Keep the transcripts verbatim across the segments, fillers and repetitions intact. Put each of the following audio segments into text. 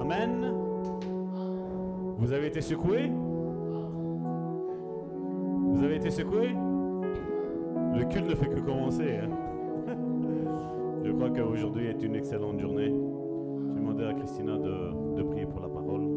Amen. Vous avez été secoués? Vous avez été secoués? Le culte ne fait que commencer. Hein? Je crois qu'aujourd'hui est une excellente journée. Je vais demander à Christina de, de prier pour la parole.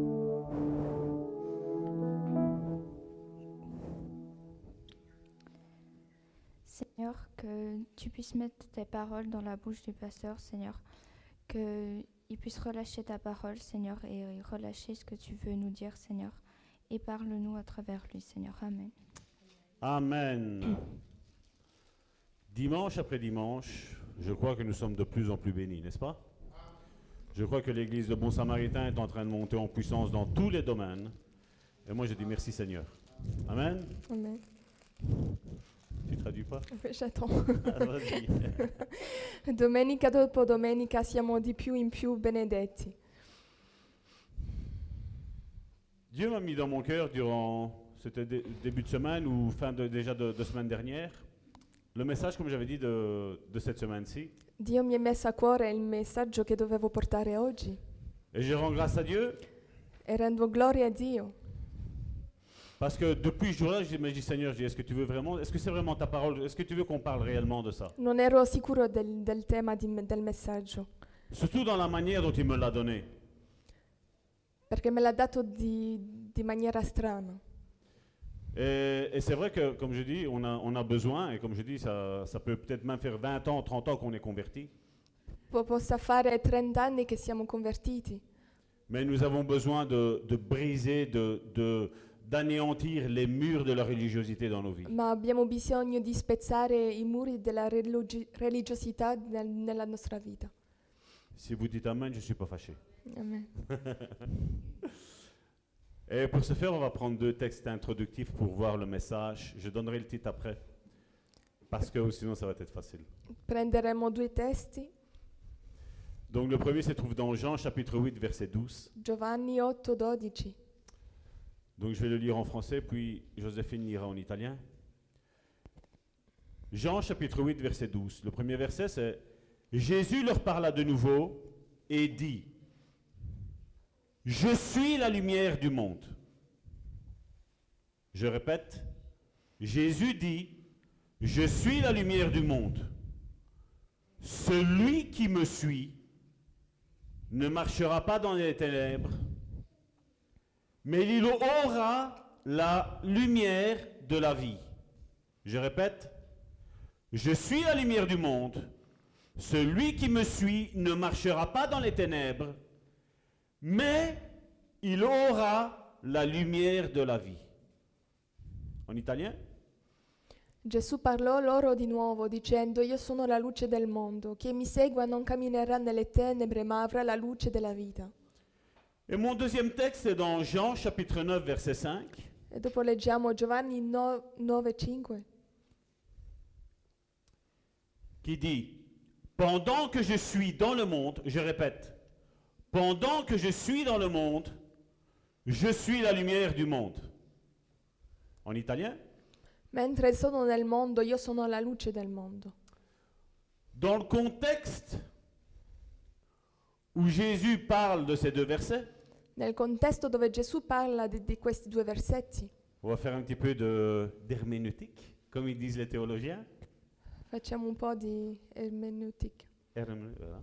Seigneur, que tu puisses mettre tes paroles dans la bouche du pasteur, Seigneur. Qu'il puisse relâcher ta parole, Seigneur, et relâcher ce que tu veux nous dire, Seigneur. Et parle-nous à travers lui, Seigneur. Amen. Amen. Dimanche après dimanche, je crois que nous sommes de plus en plus bénis, n'est-ce pas? Je crois que l'église de Bon Samaritain est en train de monter en puissance dans tous les domaines. Et moi, je dis merci Seigneur. Amen. Amen. Tu traduis pas? J'attends. Ah, vas-y. Domenica dopo domenica siamo di più in più benedetti. Dieu m'a mis dans mon cœur durant, c'était dé- début de semaine ou fin de, déjà de, de semaine dernière, le message, comme j'avais dit, de, de cette semaine-ci. Dio mi ha messo a cuore il messaggio che dovevo portare oggi Et je rends grâce à Dieu e rendo gloria a Dio parce que depuis ce jour-là, je me dis Seigneur, je dis, est-ce que tu veux vraiment, est-ce que c'est vraiment ta parole, est-ce que tu veux qu'on parle réellement de ça? non ero sicuro del, del tema di- del messaggio Surtout dans la manière dont il me l'a donné. perché me l'ha dato di, di maniera strana. Et, et c'est vrai que, comme je dis, on a, on a besoin, et comme je dis, ça, ça peut peut-être même faire vingt ans, trente ans qu'on est converti, Po- possa fare trenta anni che siamo convertiti, mais nous avons besoin de, de briser, de, de, d'anéantir les murs de la religiosité dans nos vies. ma abbiamo bisogno di spezzare i muri della religi- religiosità nel- nella nostra vita. Si vous dites Amen, je ne suis pas fâché. Amen. Et pour ce faire, on va prendre deux textes introductifs pour voir le message. Je donnerai le titre après, parce que sinon ça va être facile. Prenderemo due testi, Donc le premier se trouve dans Jean chapitre huit, verset douze. Giovanni otto dodici. Donc je vais le lire en français, puis Joséphine lira en italien. Jean chapitre huit, verset douze. Le premier verset, c'est « Jésus leur parla de nouveau et dit, « Je suis la lumière du monde. » Je répète, Jésus dit, « Je suis la lumière du monde. Celui qui me suit ne marchera pas dans les ténèbres, mais il aura la lumière de la vie. » Je répète, je suis la lumière du monde. Celui qui me suit ne marchera pas dans les ténèbres, mais il aura la lumière de la vie. En italien? Gesù parlò loro di nuovo dicendo: Io sono la luce del mondo, chi mi segua non camminerà nelle tenebre ma avrà la luce della vita. Et mon deuxième texte est dans Jean chapitre neuf verset cinq. E dopo leggiamo Giovanni nove cinque Qui dit, pendant que je suis dans le monde, je répète, pendant que je suis dans le monde, je suis la lumière du monde. En italien? Mentre sono nel mondo, io sono la luce del mondo. Dans le contexte où Jésus parle de ces deux versets, Nel contesto dove Gesù parla di, di questi due versetti, on va faire un petit peu de, d'herméneutique, comme ils disent les théologiens. facciamo un po' di ermeneutica. Hermé- voilà.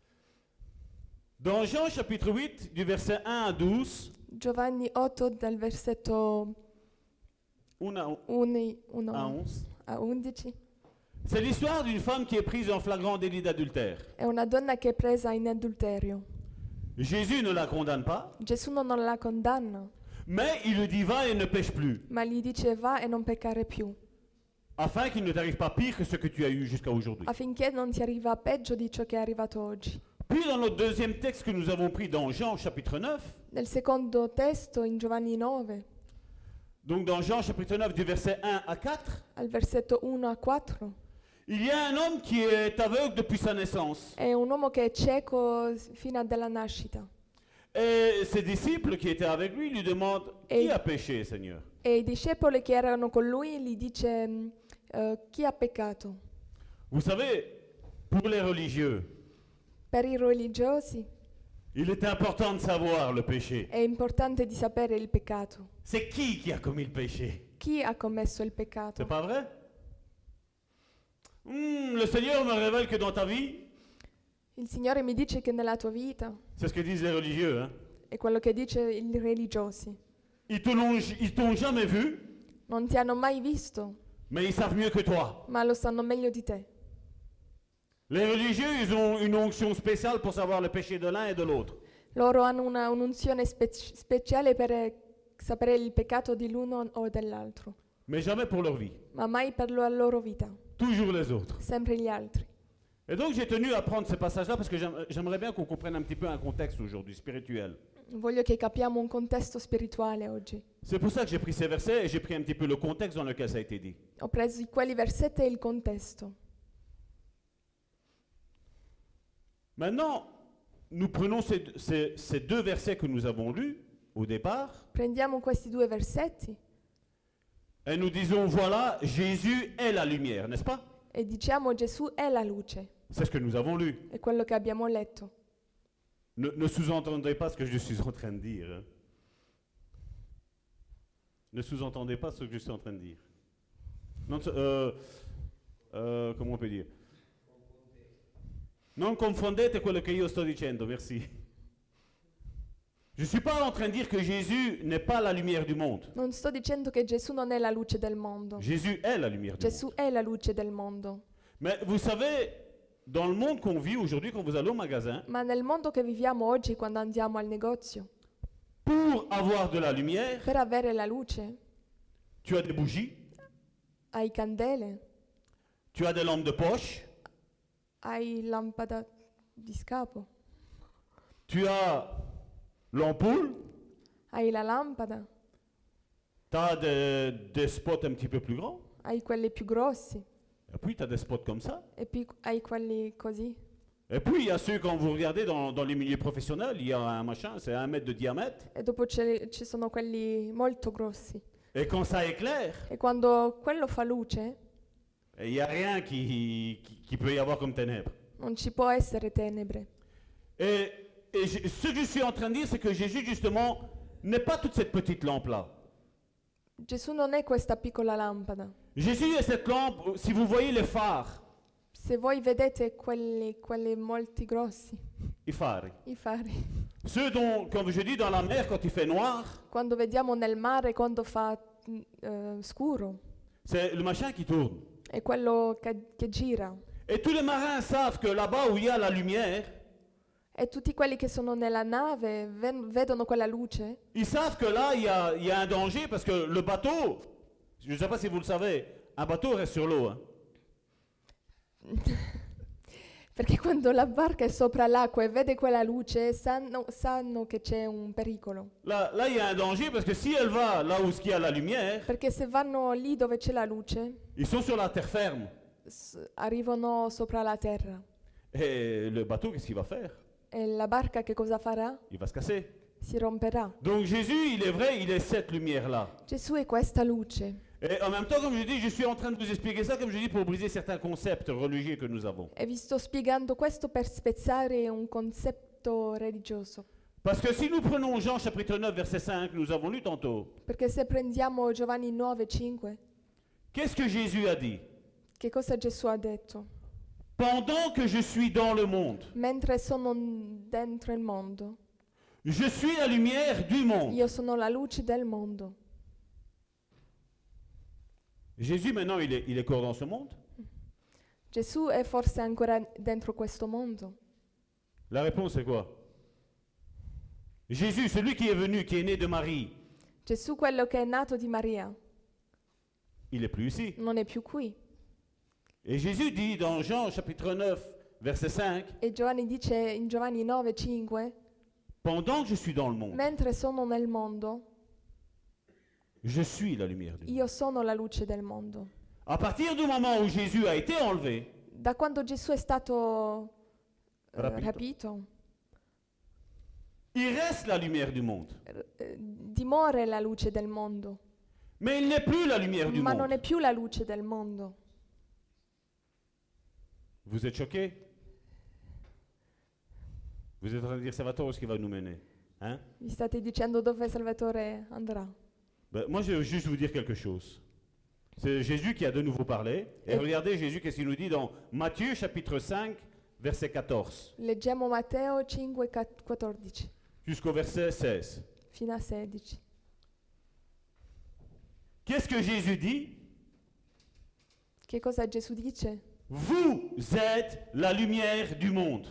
Dans Jean chapitre huit, du verset un à douze, Giovanni otto dal versetto un à, uno à onze, a undici, c'est l'histoire d'une femme qui est prise en flagrant délit d'adultère. è una donna che è presa in adulterio. Jésus ne la condamne pas, Gesù non la condanna, mais il lui dit va et ne pêche plus, ma gli dice va e non peccare più, afin qu'il ne t'arrive pas pire que ce que tu as eu jusqu'à aujourd'hui. affinché non ti arriva peggio di ciò che è arrivato oggi. Puis dans notre deuxième texte que nous avons pris dans Jean chapitre neuf, Nel secondo testo, in Giovanni nove, donc dans Jean chapitre neuf du verset un à quatre, al versetto uno a quattro, il y a un homme qui est aveugle depuis sa naissance. è un uomo che è cieco fino dalla nascita. Et ses disciples qui étaient avec lui lui demandent Et- qui a péché, Seigneur? E i discepoli che erano con lui gli dice mm, eh, chi ha peccato? Vous savez, pour les religieux, Per i religiosi Il est important de savoir le péché. È importante di sapere il peccato. C'est qui qui a commis le péché? Chi ha commesso il peccato? C'est pas vrai? Hmm, le Seigneur me révèle que dans ta vie, Il Signore mi dice che nella tua vita, c'est ce que disent les religieux, hein? è quello che dice i religiosi, Ils te l'ont, ils t'ont jamais vu, non ti hanno mai visto, mais ils savent mieux que toi. ma lo sanno meglio di te. Les religieux, ils ont une onction spéciale pour savoir le péché de l'un et de l'autre. Loro hanno una, un'unzione spec- speciale per eh, sapere il peccato di l'uno o dell'altro, Mais jamais pour leur vie. ma mai per la loro vita, Toujours les autres. sempre gli altri. Et donc j'ai tenu à prendre ces passages-là parce que j'aim- j'aimerais bien qu'on comprenne un petit peu un contexte aujourd'hui, spirituel. Voglio che capiamo un contesto spirituale oggi. C'est pour ça que j'ai pris ces versets et j'ai pris un petit peu le contexte dans lequel ça a été dit. Ho preso quelli versetti e il contesto. Maintenant, nous prenons ces, ces- ces deux versets que nous avons lus au départ Prendiamo questi due versetti et nous disons, voilà, Jésus est la lumière, n'est-ce pas? e diciamo Gesù è la luce, C'est ce que nous avons lu. è quello che abbiamo letto. Ne, ne sous-entendez pas ce que je suis en train de dire. hein. Ne sous-entendez pas ce que je suis en train de dire. Non, euh, euh, comment on peut dire? Non confondete quello che io sto dicendo, merci. Je ne suis pas en train de dire que Jésus n'est pas la lumière du monde. Non sto dicendo che Gesù non è la luce del mondo. Jésus est la lumière du Gesù monde. è la luce del mondo. Mais vous savez, dans le monde qu'on vit aujourd'hui, quand vous allez au magasin, Ma nel mondo che viviamo oggi, quando andiamo al negozio, pour avoir de la lumière, per avere la luce, tu as des bougies, hai candele, tu as des lampes de poche, hai lampada di scapo, tu as l'ampoule, hai la lampada, tu as des, des spots un petit peu plus grands, hai quelli più grossi et puis tu as des spots comme ça. e poi hai quelli così. Et puis il y a ceux, quand vous regardez dans, dans les milieux professionnels, il y a un machin, c'est un mètre de diamètre, E dopo c'è- ci sono quelli molto grossi. et quand ça éclaire, E quando quello fa luce, il n'y a rien qui, qui, qui peut y avoir comme ténèbres. non ci può essere tenebre. Et, et je- ce que je suis en train de dire, c'est que Jésus, justement, n'est pas toute cette petite lampe-là. Gesù non è questa piccola lampada. Jésus est cette lampe, si vous voyez les phares, Se voi vedete quelli, quelli molti grossi, i fari, i fari, ceux dont, comme je dis, dans la mer, quand il fait noir, quando vediamo nel mare quando fa mm, eh, scuro, c'est le machin qui tourne. è quello che, che gira. Et tous les marins savent que là-bas où il y a la lumière, E tutti quelli che sono nella nave ven- vedono quella luce, ils savent que là, il y a, il y a un danger parce que le bateau, je ne sais pas si vous le savez, un bateau reste sur l'eau. hein. perché quando la barca è sopra l'acqua e vede quella luce sanno, sanno che c'è un pericolo. Là, là, il y a un danger parce que si elle va là où il y a la lumière, Perché se vanno lì dove c'è la luce, ils sont sur la terre ferme. s- arrivano sopra la terra. Et le bateau, qu'est-ce qu'il va faire? E la barca che cosa farà? Il va se casser. Si romperà. Donc Jésus, il est vrai, il est cette lumière-là. Gesù è questa luce. Et en même temps, comme je dis, je suis en train de vous expliquer ça, comme je dis, pour briser certains concepts religieux que nous avons. E vi sto spiegando questo per spezzare un concetto religioso. Parce que si nous prenons Jean chapitre neuf, verset cinq, nous avons lu tantôt, Perché se prendiamo Giovanni nove cinque, qu'est-ce que Jésus a dit? che cosa Gesù ha detto? Pendant que je suis dans le monde, Mentre sono n- dentro il mondo, je suis la lumière du monde. io sono la luce del mondo. Jésus, maintenant, il est, il est encore dans ce monde? Gesù è forse ancora dentro questo mondo? La réponse est quoi? Jésus, celui qui est venu, qui est né de Marie, Gesù, quello che è nato di Maria, il est plus ici. non è più qui. Et Jésus dit dans Jean chapitre neuf, verset cinq, E Giovanni dice in Giovanni nove cinque, pendant que je suis dans le monde, mentre sono nel mondo, je suis la lumière du monde. io sono la luce del mondo. À partir du moment où Jésus a été enlevé, Da quando Gesù è stato eh, Rapito. rapito, il reste la lumière du monde. eh, dimora la luce del mondo, Mais il n'est plus la lumière du ma non monde. è più la luce del mondo. Vous êtes choqués? Vous êtes en train de dire, Salvatore, où est-ce qu'il va nous mener? Hein? Vi state dicendo dove Salvatore andrà. Ben, moi, je veux juste vous dire quelque chose. C'est Jésus qui a de nouveau parlé. Et Et- regardez Jésus, qu'est-ce qu'il nous dit dans Matthieu chapitre cinq, verset quatorze, Leggiamo Matteo cinque quattordici jusqu'au verset seize. fino a sedici. Qu'est-ce que Jésus dit? Che cosa Gesù dice? Vous êtes la lumière du monde.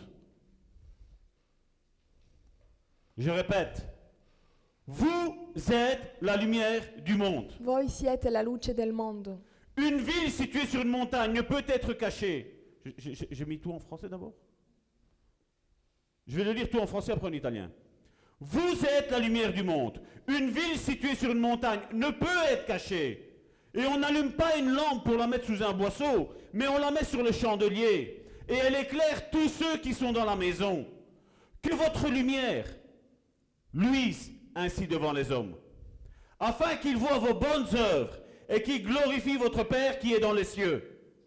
Je répète, vous êtes la lumière du monde. Voi siete la luce del mondo. Une ville située sur une montagne ne peut être cachée. J'ai- J'ai j'ai mis tout en français d'abord. Je vais le lire tout en français, après en italien. Vous êtes la lumière du monde. Une ville située sur une montagne ne peut être cachée. Et on n'allume pas une lampe pour la mettre sous un boisseau, mais on la met sur le chandelier. Et elle éclaire tous ceux qui sont dans la maison. Que votre lumière luise ainsi devant les hommes, afin qu'ils voient vos bonnes œuvres et qu'ils glorifient votre Père qui est dans les cieux.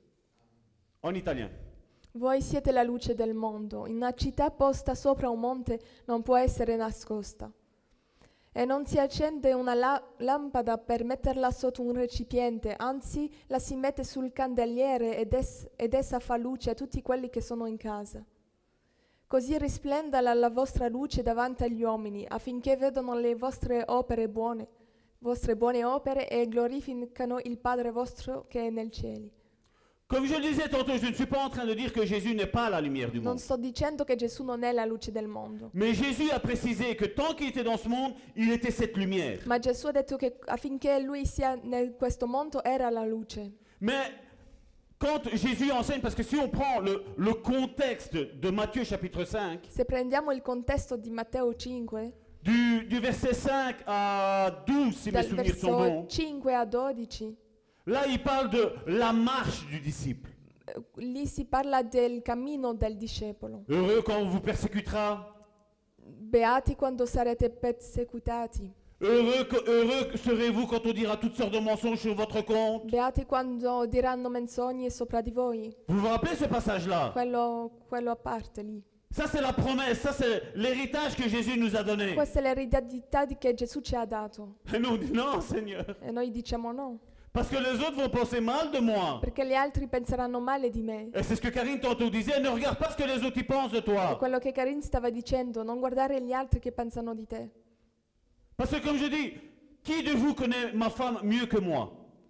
En italien. Voi siete la luce del mondo. Una città posta sopra un monte non può essere nascosta. E non si accende una la- lampada per metterla sotto un recipiente, anzi la si mette sul candeliere ed, es- ed essa fa luce a tutti quelli che sono in casa. Così risplenda la, la vostra luce davanti agli uomini, affinché vedano le vostre opere buone, vostre buone opere e glorificano il Padre vostro che è nel cielo. Comme je le disais tantôt, je ne suis pas en train de dire que Jésus n'est pas la lumière du Non monde. sto dicendo che Gesù non è la luce del mondo, Mais Jésus a précisé que tant qu'il était dans ce monde, il était cette lumière. ma Gesù ha detto che affinché lui sia in questo mondo era la luce. Mais quand Jésus enseigne, parce que si on prend le, le contexte de Matthieu chapitre cinq, Se prendiamo il contesto di Matteo cinque, du, du verset cinq à douze, si mes dal souvenirs sont verso bons, cinque a dodici, là il parle de la marche du disciple. eh, lì si parla del cammino del discepolo. Heureux quand on vous persécutera, Beati quando sarete persecutati. heureux, que- heureux serez-vous quand on dira toutes sortes de mensonges sur votre compte. Beati quando diranno menzogne sopra di voi. Vous vous rappelez ce passage-là? Quello, quello a parte lì. Ça c'est la promesse, ça c'est l'héritage que Jésus nous a donné. Questa è l'eredità di- che Gesù ci ha dato. Et nous on dit non Seigneur, E noi diciamo no, parce que les autres vont penser mal de moi. perché gli altri penseranno male di me. Et c'est ce que Karine tantôt disait, ne regarde pas ce que les autres y pensent de È toi. quello che Karin stava dicendo, non guardare gli altri che pensano di te. Parce que comme je dis, qui de vous connaît ma femme mieux que moi?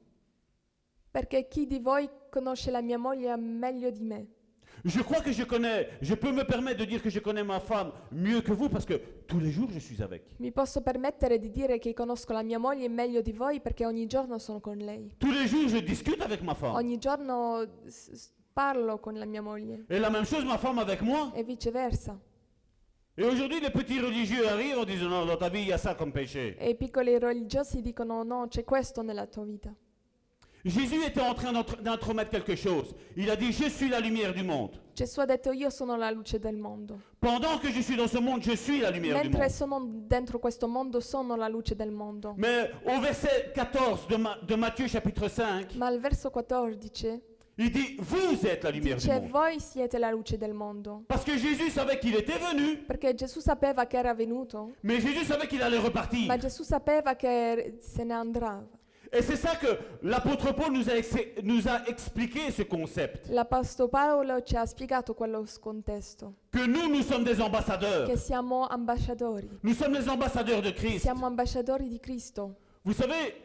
Perché chi di voi conosce la mia moglie meglio di me? Je crois que je connais, je peux me permettre de dire que je connais ma femme mieux que vous parce que tous les jours je suis avec. Mi posso permettere di dire che conosco la mia moglie meglio di voi perché ogni giorno sono con lei. Tous les jours je discute avec ma femme. Ogni giorno s- s- parlo con la mia moglie Et la même chose ma femme avec moi. e viceversa. Et aujourd'hui les petits religieux arrivent en disant non, dans ta vie il y a ça comme péché. E i piccoli religiosi dicono no, c'è questo nella tua vita. Jésus était en train d'intr- d'intromettre quelque chose. Il a dit je suis la lumière du monde. Gesù ha detto io sono la luce del mondo. Pendant que je suis dans ce monde, je suis la lumière du Mentre monde. sono dentro questo mondo sono la luce del mondo. Mais au verset quatorze de, Ma- de Matthieu chapitre cinq, Ma al verso quattordici il dit vous êtes la lumière du dice monde. voi siete la luce del mondo. Parce que Jésus savait qu'il était venu, Perché Gesù sapeva che era venuto, mais Jésus savait qu'il allait repartir. ma Gesù sapeva che se ne andrà. Et c'est ça que l'apôtre Paul nous a, ex- nous a expliqué ce concept. L'Apostolo Paolo ci ha spiegato quello contesto, Que nous, nous sommes des ambassadeurs. che siamo ambasciatori. Nous sommes les ambassadeurs de Christ. Siamo ambasciatori di Cristo. Vous savez,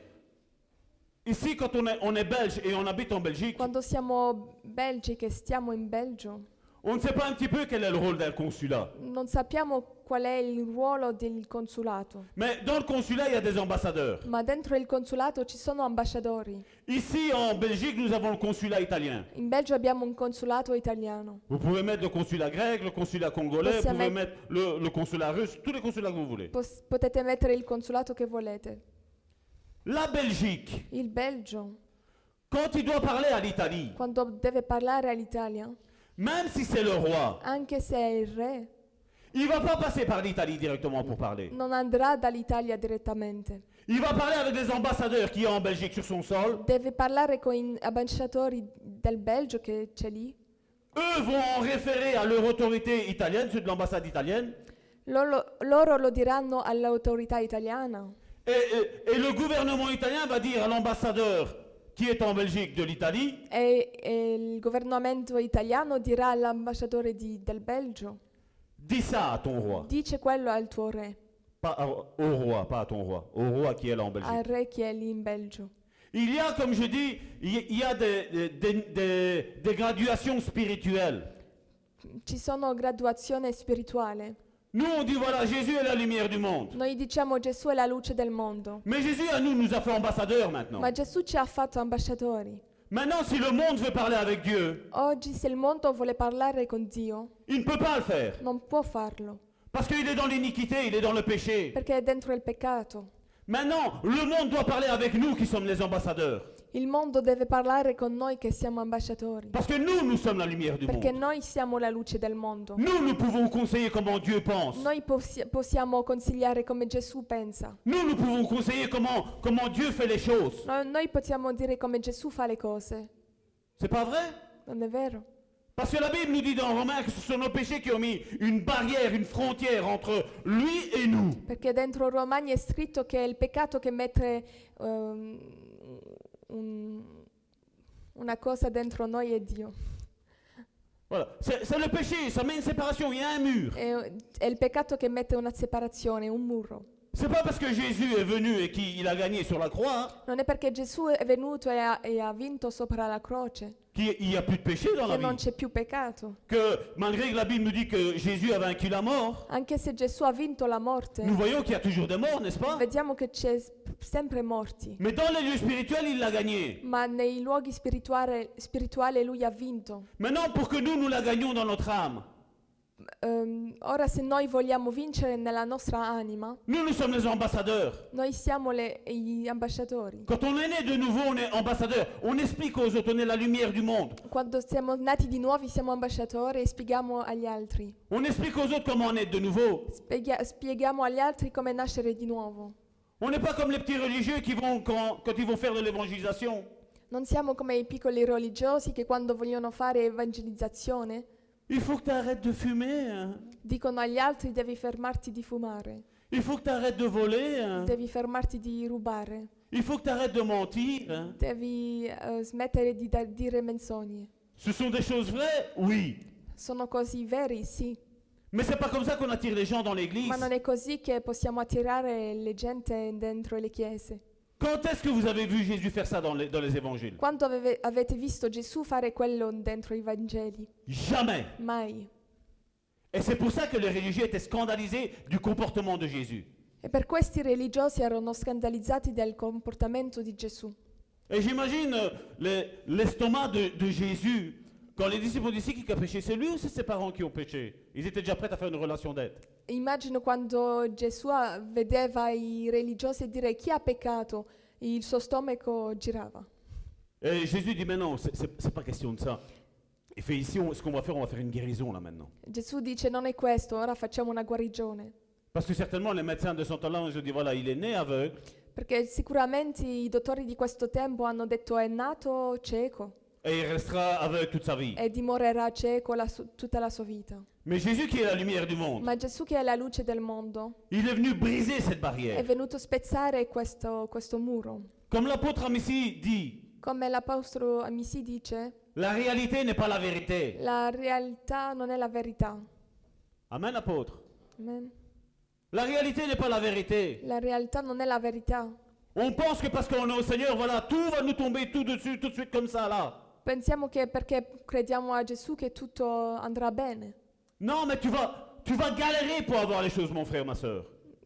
ici quand on est, on est belge et on habite en Belgique, Quando siamo belgi, che stiamo in Belgio, on ne sait pas un petit peu quel est le rôle d'un consulat. non sappiamo qual è il ruolo del consulato. Mais dans le consulat, il y a des ambassadeurs. Ma dentro il consulato ci sono ambasciatori. Ici en Belgique, nous avons le consulat italien. In Belgio abbiamo un consulato italiano. Vous pouvez mettre le consulat grec, le consulat congolais, vous Possiamo pouvez met- mettre le, le consulat russe, tous les consulats que vous voulez. Pos- potete mettere il consulato che volete. La Belgique, Il Belgio, quand il doit parler à l'Italie, quando deve parlare all'Italia, même si c'est le roi, anche se è il re, il va pas passer par l'Italie directement pour parler. non andrà dall'Italia direttamente. Il va parler avec les ambassadeurs qui sont en Belgique sur son sol. Deve parlare con i ambasciatori del Belgio che c'è lì. eux vont en référer à leur autorité italienne, ceux de l'ambassade italienne, Loro, loro lo diranno all'autorità italiana et, et- et le gouvernement italien va dire à l'ambassadeur qui est en Belgique de l'Italie, e, e il governamento italiano dirà all'ambasciatore di- del Belgio, dis ça à ton roi. dice quello al tuo re, Pas à- au roi, pas à ton roi, au roi qui est là en Belgique. al re che è lì in Belgio. Il y a, comme je dis, il y- il y a des, des- des- des- des graduations spirituelles. Ci sono graduazione spirituale. Nous, on dit, voilà, Jésus est la lumière du monde. Noi diciamo Gesù è la luce del mondo, Mais Jésus, à nous, nous a fait ambassadeurs maintenant. ma Gesù ci ha fatto ambasciatori. Maintenant, si le monde veut parler avec Dieu, Oggi se il mondo vuole parlare con Dio, il ne peut pas le faire. non può farlo, Parce qu'il est dans l'iniquité, il est dans le péché. perché è dentro il peccato. Maintenant, le monde doit parler avec nous qui sommes les ambassadeurs. Il mondo deve parlare con noi che siamo ambasciatori, Parce que nous, nous sommes la lumière du perché monde. noi siamo la luce del mondo. Nous, nous pouvons conseiller comment Dieu pense. Noi possi- possiamo consigliare come Gesù pensa. Nous, nous pouvons conseiller comment, comment Dieu fait les choses. No- noi possiamo dire come Gesù fa le cose. C'est pas vrai? Non è vero? Parce que la Bible nous dit dans Romains que ce sont nos péchés qui ont mis une barrière, une frontière entre lui et nous. Perché dentro Romani è scritto che è il peccato che mette ehm, un- una cosa dentro noi e Dio. Voilà. C'est c'est le péché, ça met une séparation, il y a un mur. È, è il peccato che mette una separazione, un muro. C'est pas parce que Jésus est venu et qu'il a gagné sur la croix Non è perché Gesù è venuto e ha, e ha vinto sopra la croce qu'il n'y a plus de péché dans la che non vie. c'è più peccato. Que malgré que la Bible nous dit que Jésus a vaincu la mort, Anche se Gesù ha vinto la morte, nous voyons qu'il y a toujours des morts, n'est-ce pas? vediamo che c'è s- sempre morti. Mais dans les lieux spirituels, il l'a gagné. Ma nei luoghi spirituali, spirituali lui ha vinto. Maintenant, pour que nous, nous la gagnions dans notre âme, Ehm, ora se noi vogliamo vincere nella nostra anima, nous, nous sommes les ambassadeurs. noi siamo le- gli ambasciatori. Quand on est né de nouveau, on est ambassadeur. On explique aux autres, on est la lumière du monde. Quando siamo nati di nuovo siamo ambasciatori e spieghiamo agli altri. On explique aux autres comment naître de nouveau. Spieghi- spieghiamo agli altri come nascere di nuovo. On n'est pas comme les petits religieux qui vont, quand, quand ils vont faire de l'évangélisation, Non siamo come i piccoli religiosi che quando vogliono fare evangelizzazione il faut que tu arrêtes de fumer, hein. dicono agli altri devi fermarti di fumare, Il faut que tu arrêtes de voler, hein. devi fermarti di rubare, Il faut que tu arrêtes de mentir, hein. devi eh, smettere di da- dire menzogne. Ce sont des choses vraies? Oui. Sono così veri, sì, Mais c'est pas comme ça qu'on attire les gens dans l'église. ma non è così che possiamo attirare le gente dentro le chiese. Quand est-ce que vous avez vu Jésus faire ça dans les, dans les évangiles? Quando aveve- avete visto Gesù fare quello dentro i Vangeli? Jamais. Mai. Et c'est pour ça que les religieux étaient scandalisés du comportement de Jésus. E per questi religiosi erano scandalizzati del comportamento di Gesù. Et j'imagine euh, le- l'estomac de, de Jésus, quand les disciples ont dit c'est qui qui a péché, c'est lui ou c'est ses parents qui ont péché? Ils étaient déjà prêts à faire une relation d'aide. Immagino quando Gesù ah, vedeva i religiosi dire chi ha peccato, il suo stomaco girava. Et Jésus dit mais non, c'est- c'est c'est pas question de ça. Il fait ici, on- ce qu'on va faire, on va faire une guérison là maintenant. Gesù dice non è questo, ora facciamo una guarigione. Parce que certainement les médecins de son temps-là, ils ont dit voilà, il est né aveugle Perché sicuramente i dottori di questo tempo hanno detto è nato cieco et il restera aveugle toute sa vie. e dimorerà cieco la su- tutta la sua vita. Mais Jésus qui est la lumière du monde, Ma Gesù che è la luce del mondo il est venu briser cette è barrière. venuto a spezzare questo, questo muro. Comme l'apôtre Amici dit, Come l'apostolo Amisi dice, la réalité n'est pas la vérité. la realtà non è la verità. Amen, apôtre. Amen. La réalité n'est pas la vérité. La realtà non è la verità. On pense que parce qu'on est au Seigneur, voilà, tout va nous tomber tout dessus, tout de suite comme ça là. Pensiamo che perché crediamo a Gesù che tutto andrà bene. Non, mais tu vas, tu vas galérer pour avoir les choses, mon frère, ma soeur.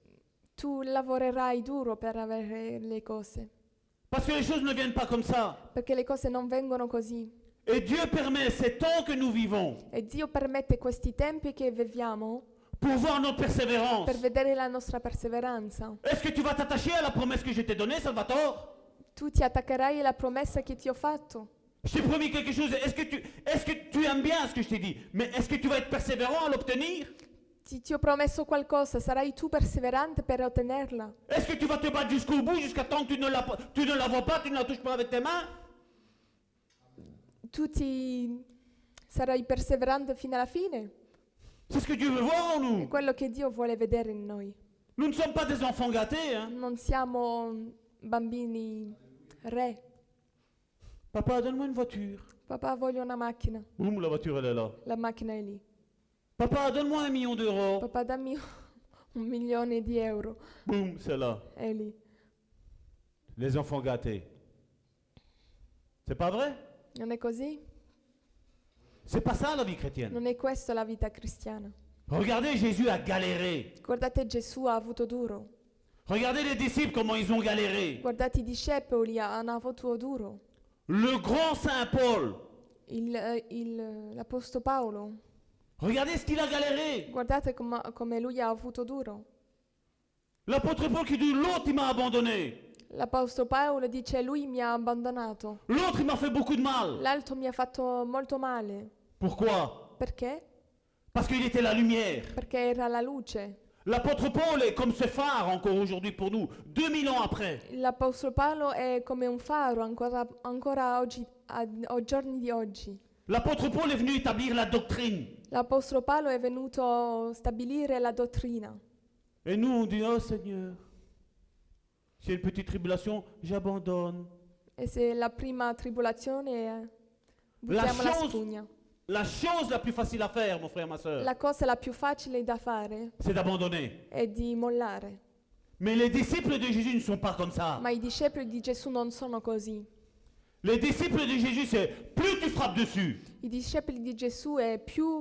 Tu lavorerai duro per avere le cose, Parce que les choses ne viennent pas comme ça. perché le cose non vengono così. Et Dieu permet ces temps que nous vivons E Dio permette questi tempi che viviamo pour voir notre persévérance. per vedere la nostra perseveranza. Est-ce que tu vas t'attacher à la promesse que je t'ai donnée, Salvatore? Tu ti attaccherai alla promessa che ti ho fatto. Je t'ai promis quelque chose. Est-ce que tu, est-ce que tu aimes bien ce que je t'ai dit? Mais est-ce que tu vas être persévérant à l'obtenir? Ti, ti ho promesso qualcosa, sarai tu perseverante per ottenerla. Est-ce que tu vas te battre jusqu'au bout, jusqu'à temps que tu ne, la, tu ne la vois pas, tu ne la touches pas avec tes mains? Tu ti Sarai perseverante fino alla fine? C'est ce que Dieu veut voir en È nous. quello che Dio vuole vedere in noi. Nous ne sommes pas des enfants gâtés. Hein. Non siamo bambini re. Papa, donne-moi une voiture. Papà, voglio una macchina. Boum, la voiture, elle est là. La macchina è lì. Papa, donne-moi un million d'euros. Papà, dammi un milione di euro. Boum, c'est là. È lì. Les enfants gâtés. C'est pas vrai? Non è così? C'est pas ça la vie chrétienne. Non è questa la vita cristiana. Regardez, Jésus a galéré. Guardate, Gesù ha avuto duro. Regardez les disciples, comment ils ont galéré. Guardate i discepoli, hanno avuto duro. Le grand Saint Paul, Il, eh, il- l'Apostolo Paolo, regardez ce qu'il a galéré. guardate com- come lui ha avuto duro. L'apôtre Paul qui dit, l'autre il m'a abandonné. L'Apostolo Paolo dice, lui mi ha abbandonato. L'autre il m'a fait beaucoup de mal. L'altro mi ha fatto molto male. Pourquoi? Perché? Parce qu'il était la lumière. Perché era la luce. L'apôtre Paul est comme ce phare encore aujourd'hui pour nous, deux mille ans après. L'Apostolo Paolo è come un faro ancora, ancora oggi, a, ai giorni di oggi. L'apôtre Paul est venu établir la doctrine. L'Apostolo Paolo è venuto a stabilire la dottrina. Et nous on dit, oh Seigneur, s'il y a une petite tribulation, j'abandonne. E se la prima tribolazione è, La buttiamo la chose- spugna. La chose la plus facile à faire, mon frère, ma soeur, La cosa la più facile da fare c'est d'abandonner. è di mollare. Mais les disciples de Jésus ne sont pas comme ça. Ma i discepoli di Gesù non sono così. Les disciples de Jésus, c'est plus tu frappes dessus, I discepoli di Gesù è più,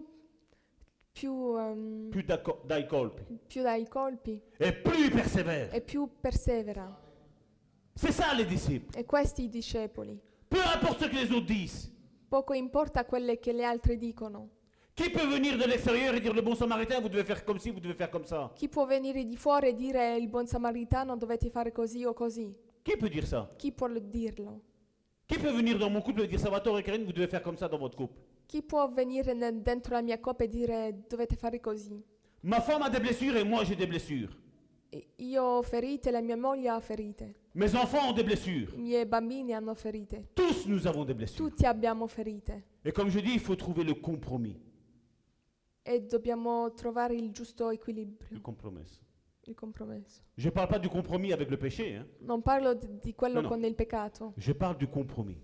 più, ehm, plus d'acco- dai colpi, più dai colpi et plus il persévère. e più persevera. C'est ça les disciples. E questi i discepoli. Peu importe ce que les autres disent. Poco importa quelle che le altre dicono. Qui peut venir de l'extérieur et dire le bon samaritain, vous devez faire comme ci, vous devez faire comme ça? Chi può venire di fuori e dire il buon samaritano dovete fare così o così? Qui peut dire ça? Chi può dirlo? Qui peut venir dans mon couple et dire Salvatore et Karine, vous devez faire comme ça dans votre couple? Chi può venire nel- dentro la mia coppia e dire dovete fare così? Ma femme a des blessures et moi j'ai des blessures. E io ho ferite, la mia moglie ha ferite. Mes enfants ont des blessures. I miei bambini hanno ferite. Tous nous avons des blessures. Tutti abbiamo ferite. Et comme je dis, il faut trouver le compromis. E dobbiamo trovare il giusto Le equilibrio, compromis. il compromesso. Je ne parle pas du compromis avec le péché. Hein. Non parlo di, di quello No, no. con il peccato. Je parle du compromis.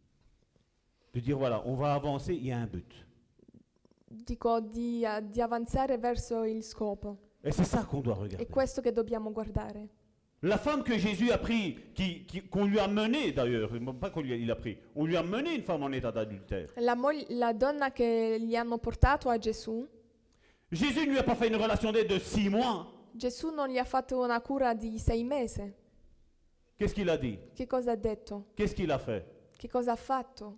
De dire voilà, on va avancer, il y a un but. Dico di, a- di avanzare verso il scopo. Et c'est ça qu'on doit È regarder. questo che dobbiamo guardare. La femme que Jésus a pris, qui- qui- qu'on lui a menée d'ailleurs, non pas qu'on lui a, il a pris, on lui a mené une femme en état d'adultère. La, moglie- la donna che gli hanno portato a Gesù, Jésus ne lui a pas fait une relation d'aide de six mois. Gesù non gli ha fatto una cura di sei mesi. Qu'est-ce qu'il a dit? Che cosa ha detto? Qu'est-ce qu'il a fait? Che cosa ha fatto?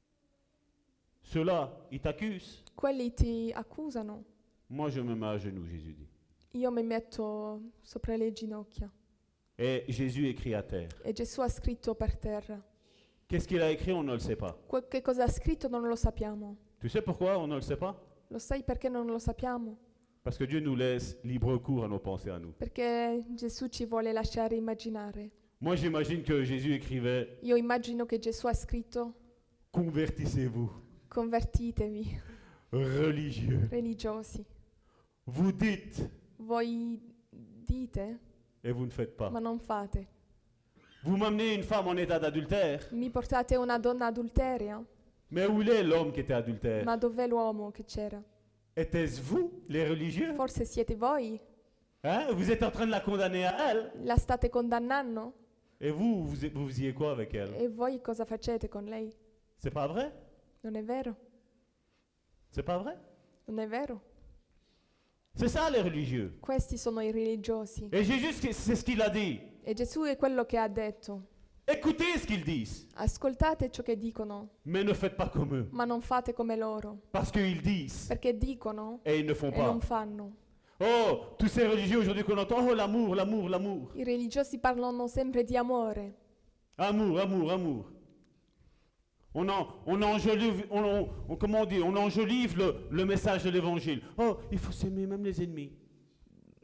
Ceux-là, ils t'accusent. Quelli ti accusano. Moi, je me mets à genoux, Jésus dit. Io mi metto sopra le ginocchia. Et Jésus écrit à terre. E Gesù ha scritto per terra. Qu'est-ce qu'il a écrit? On ne le sait pas. Que- che cosa ha scritto non lo sappiamo. Tu sais pourquoi on ne le sait pas? Lo sai perché non lo sappiamo? Parce que Dieu nous laisse libre cours à nos pensées à nous. Perché Gesù ci vuole lasciare immaginare. Moi, j'imagine que Jésus écrivait Io immagino che Gesù ha scritto convertissez-vous, convertitevi, religieux. religiosi. Vous dites Voi dite, et vous ne faites pas. ma non fate. Vous m'amenez une femme en état d'adultère, Mi portate una donna adulteria? mais où est l'homme qui était adultère? Ma dov'è l'uomo che c'era? Était-ce vous, les religieux? Forse siete voi? Hein? Vous êtes en train de la condamner à elle, La state condannando? et vous, vous, vous faisiez quoi avec elle? E voi cosa facete con lei? C'est pas vrai? Non è vero? C'est pas vrai? Non è vero? C'est ça les religieux. Questi sono i religiosi. Et Jésus, c'est ce qu'il a dit. E Gesù è quello che ha detto. Écoutez ce qu'ils disent, Ascoltate ciò che dicono, mais ne faites pas comme eux. ma non fate come loro. Parce qu'ils disent Perché dicono et ils ne font e pas. non fanno. Oh, tous ces religieux aujourd'hui qu'on entend, oh l'amour, l'amour, l'amour. I religiosi parlano sempre di amore. Amour, amour, amour. On, en, on, enjolive, on, on, on- comment on dit, on enjolive le, le message de l'évangile. Oh, il faut s'aimer même les ennemis.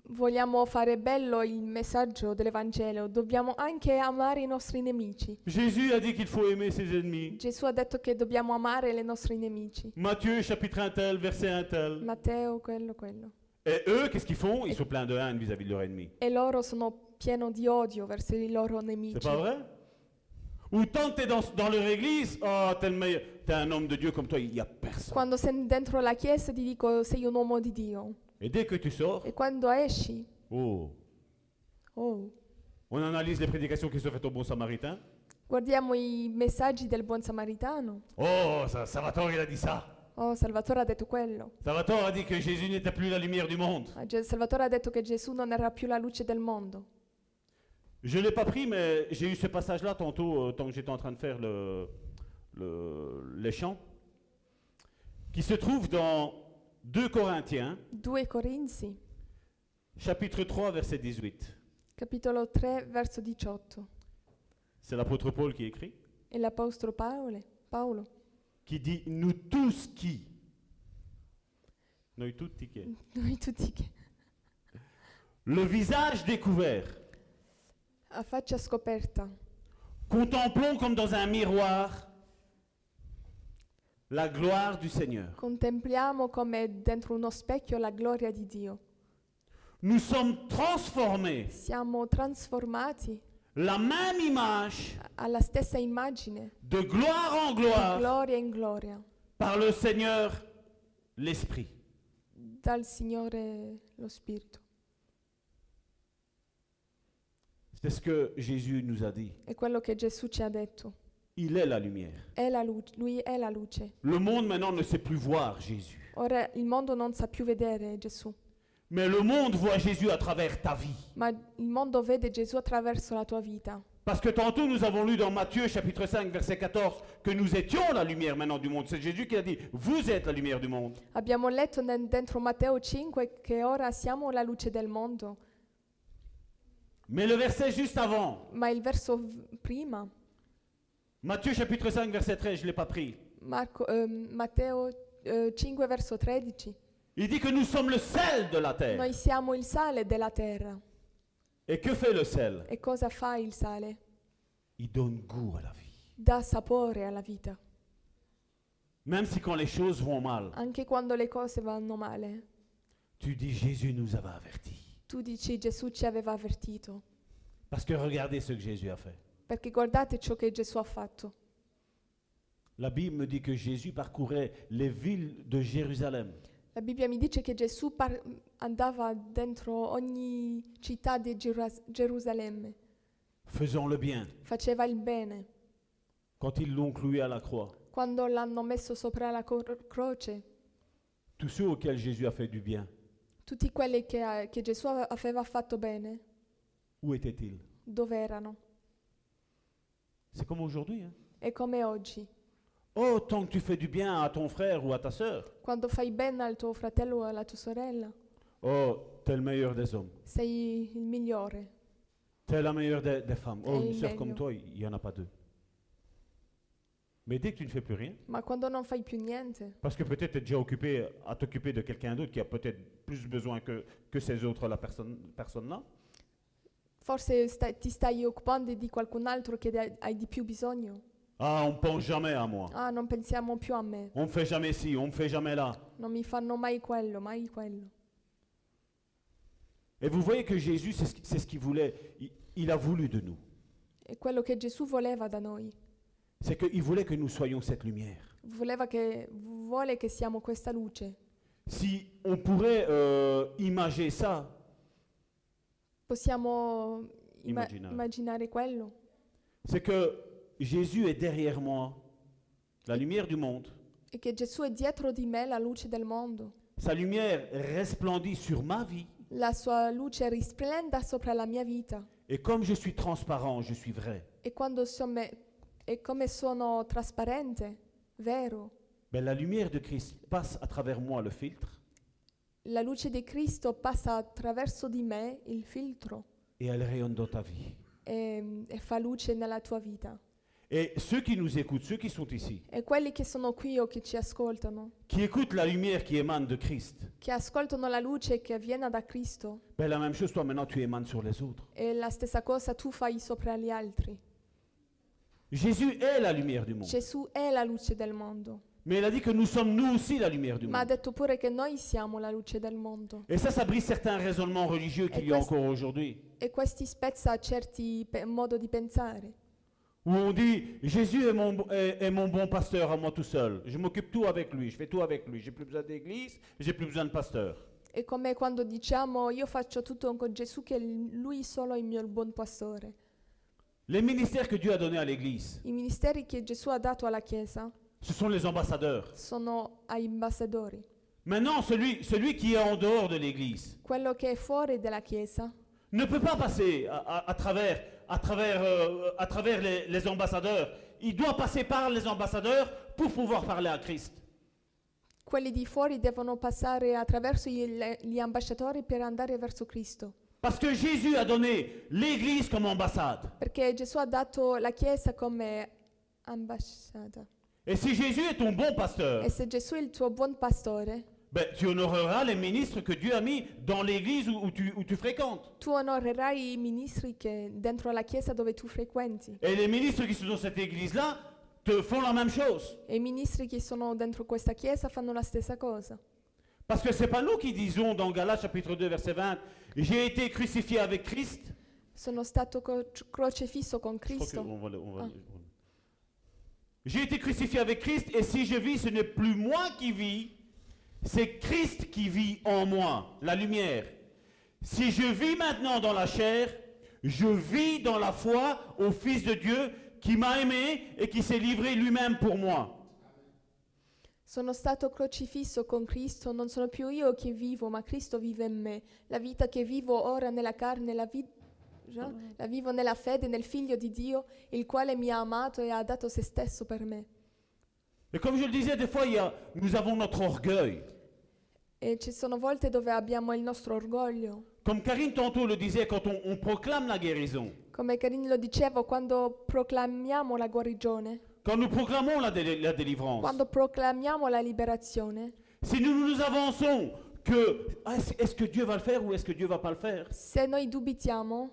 vogliamo fare bello il messaggio dell'Evangelo, dobbiamo anche amare i nostri nemici. Jésus a dit qu'il faut aimer ses ennemis. Gesù ha detto che dobbiamo amare i nostri nemici. Matthieu, chapitre un tel, verset un tel. Matteo, quello, quello. Et eux, qu'est-ce qu'ils font? Ils sont pleins de haine vis-à-vis de leurs ennemis. E loro sono pieni di odio verso i loro C'est nemici. pas vrai? Ou tant que t'es dans, dans leur église, oh, t'es, le meilleur, t'es un homme de Dieu comme toi, il n'y a personne. Quando sei dentro la chiesa ti dico sei un uomo di Dio. Et dès que tu sors, E quando esci, oh, oh, on analyse les prédications qui sont faites au bon samaritain. guardiamo i messaggi del buon samaritano. Oh, ça, Salvatore, il a dit ça. Oh, Salvatore ha detto quello. Salvatore a dit que Jésus n'était plus la lumière du monde. Ah, Ge- Salvatore ha detto che Gesù non era più la luce del mondo. Je ne l'ai pas pris, mais j'ai eu ce passage-là tantôt, euh, tant que j'étais en train de faire le, le- les chants, qui se trouve dans deux Corinthiens, due Corinzi, chapitre trois, verset dix-huit. capitolo tre, verso diciotto. C'est l'apôtre Paul qui écrit, E l'apostolo Paolo, Paolo, qui dit « Nous tous qui » Noi tutti che noi tutti che le visage découvert, a faccia scoperta contemplons comme dans un miroir la gloire du Seigneur. contempliamo come dentro uno specchio la gloria di Dio. Nous sommes transformés, Siamo trasformati la même image, alla stessa immagine, de gloire en di gloire, gloria in gloria, par le Seigneur, l'Esprit. dal Signore lo Spirito. C'est ce que Jésus nous a dit. È quello che Gesù ci ha detto. Il est la lumière. È la luce, lui è la luce. Le monde maintenant ne sait plus voir Jésus. Ora il mondo non sa più vedere Gesù, Mais le monde voit Jésus à travers ta vie. ma il mondo vede Gesù attraverso la tua vita. Parce que tantôt nous avons lu dans Matthieu chapitre cinq verset quatorze que nous étions la lumière maintenant du monde. C'est Jésus qui a dit, vous êtes la lumière du monde. Abbiamo letto nel- dentro Matteo cinque che ora siamo la luce del mondo, Mais le verset juste avant, ma il verso v- prima, Matthieu chapitre cinq verset treize, je ne l'ai pas pris. Marco, ehm, Matteo eh, cinque verso tredici, Il dit que nous sommes le sel de la terre. noi siamo il sale della terra. Et que fait le sel? E cosa fa il sale? Il donne goût à la vie. Dà sapore alla vita, Même si quand les choses vont mal, anche quando le cose vanno male. tu dis Jésus nous avait avertis. Tu dici Gesù ci aveva avvertito, Parce que regardez ce que Jésus a fait. perché guardate ciò che Gesù ha fatto. La Bible me dit que Jésus parcourait les villes de Jérusalem. La Bibbia mi dice che Gesù par- andava dentro ogni città di Geras- Gerusalemme, Faisant le bien. faceva il bene. Quand ils l'ont cloué à la croix, Quando l'hanno messo sopra la cor- croce, tous ceux auxquels Jésus a fait du bien, tutti quelli che, ha- che Gesù ave- aveva fatto bene, où étaient-ils? dove erano? C'est comme aujourd'hui. Hein? E come oggi, Oh, tant que tu fais du bien à ton frère ou à ta sœur, quando fai bene al tuo fratello o alla tua sorella, oh, t'es le meilleur des hommes. sei il migliore. T'es la meilleure des, des femmes. Oh, Et une sœur meglio. comme toi, il n'y en a pas deux. Mais dès que tu ne fais plus rien, Ma quando non fai più niente, parce que peut-être tu es déjà occupé à t'occuper de quelqu'un d'autre qui a peut-être plus besoin que, que ces autres la personne, personne-là, forse stai- ti stai occupando di qualcun altro che hai- hai di più bisogno. ah, on ne pense jamais à moi. Ah, non pensiamo più a me, On ne fait jamais ci, on ne fait jamais là. non mi fanno mai quello, mai quello. Et vous voyez que Jésus, c'est ce, qui- c'est ce qu'il voulait. Il, il a voulu de nous. È quello che Gesù voleva da noi. C'est qu'il voulait que nous soyons cette lumière. Voleva che, vuole che siamo questa luce. Si on pourrait euh, imager ça, Possiamo ima- Immaginare. immaginare quello? c'est que Jésus est derrière moi, la lumière du monde. E che Gesù è dietro di me, la luce del mondo. Sa lumière resplendit sur ma vie. La sua luce risplenda sopra la mia vita. Et comme je suis transparent, je suis vrai, E quando sono, e come sono trasparente, vero, ben, la lumière de Christ passe à travers moi le filtre la luce di Cristo passa attraverso di me, il filtro, et elle rayonne dans ta vie. e, e fa luce nella tua vita. Et ceux qui nous écoutent, ceux qui sont ici, E quelli che sono qui o che ci ascoltano, qui écoutent la lumière qui émane de Christ, che ascoltano la luce che viene da Cristo, ben la même chose, toi maintenant tu émanes sur les autres. e la stessa cosa tu fai sopra gli altri. Jésus est la lumière du monde. Gesù è la luce del mondo, Mais il a dit que nous sommes nous aussi la lumière du ma ha monde. detto pure che noi siamo la luce del mondo. Et ça, ça brise certains raisonnements religieux qu'il y a quest- encore aujourd'hui. E questi spezza certi pe- modo di pensare, Où on dit, Jésus est mon, est, est mon bon pasteur à moi tout seul. Je m'occupe tout avec lui, je fais tout avec lui. J'ai plus besoin d'église, j'ai plus besoin de pasteur. è come quando diciamo io faccio tutto con Gesù, che lui solo è il mio buon pastore. Les ministères que Dieu a donnés à l'église, I ministeri che Gesù ha dato alla Chiesa ce sont les ambassadeurs. sono agli ambasciatori. Maintenant, celui, celui qui est en dehors de l'église Quello che è fuori dalla Chiesa ne peut pas passer à, à- à travers, à travers, euh, à travers les, les ambassadeurs. Il doit passer par les ambassadeurs pour pouvoir parler à Christ. quelli di fuori devono passare attraverso gli, gli ambasciatori per andare verso Cristo. Parce que Jésus a donné l'église comme ambassade. Perché Gesù ha dato la Chiesa come ambasciata. Et si Jésus est ton bon pasteur, E se Gesù è il tuo buon pastore, ben, tu honoreras les ministres que Dieu a mis dans l'église où, où tu, où tu fréquentes. tu onorerai i ministri che dentro la Chiesa dove tu frequenti. Et les ministres qui sont dans cette église-là te font la même chose. E i ministri che sono dentro questa Chiesa fanno la stessa cosa. Parce que c'est pas nous qui disons dans Galates chapitre deux verset vingt, j'ai été crucifié avec Christ. Sono stato co- crocifisso con Je crois que Cristo. on va le- on va Ah. le- on- J'ai été crucifié avec Christ et si je vis, ce n'est plus moi qui vis, c'est Christ qui vit en moi, la lumière. Si je vis maintenant dans la chair, je vis dans la foi au Fils de Dieu qui m'a aimé et qui s'est livré lui-même pour moi. Sono stato crocifisso con Cristo, non sono più io che vivo, ma Cristo vive in me. La vita che vivo ora nella carne, la, vi- già? la vivo nella fede nel Figlio di Dio, il quale mi ha amato e ha dato se stesso per me. Et comme je le disais, des fois, il y a- nous avons notre orgueil. E ci sono volte dove abbiamo il nostro orgoglio. Comme Karine tantôt le disait, quand on, on proclame la guérison, Come Karin lo dicevo, quando proclamiamo la guarigione, quand nous proclamons la, dé- la délivrance, quando proclamiamo la liberazione, si nous nous avançons que ah, est-ce est-ce que Dieu va le faire ou est-ce que Dieu va pas le faire, se noi dubitiamo,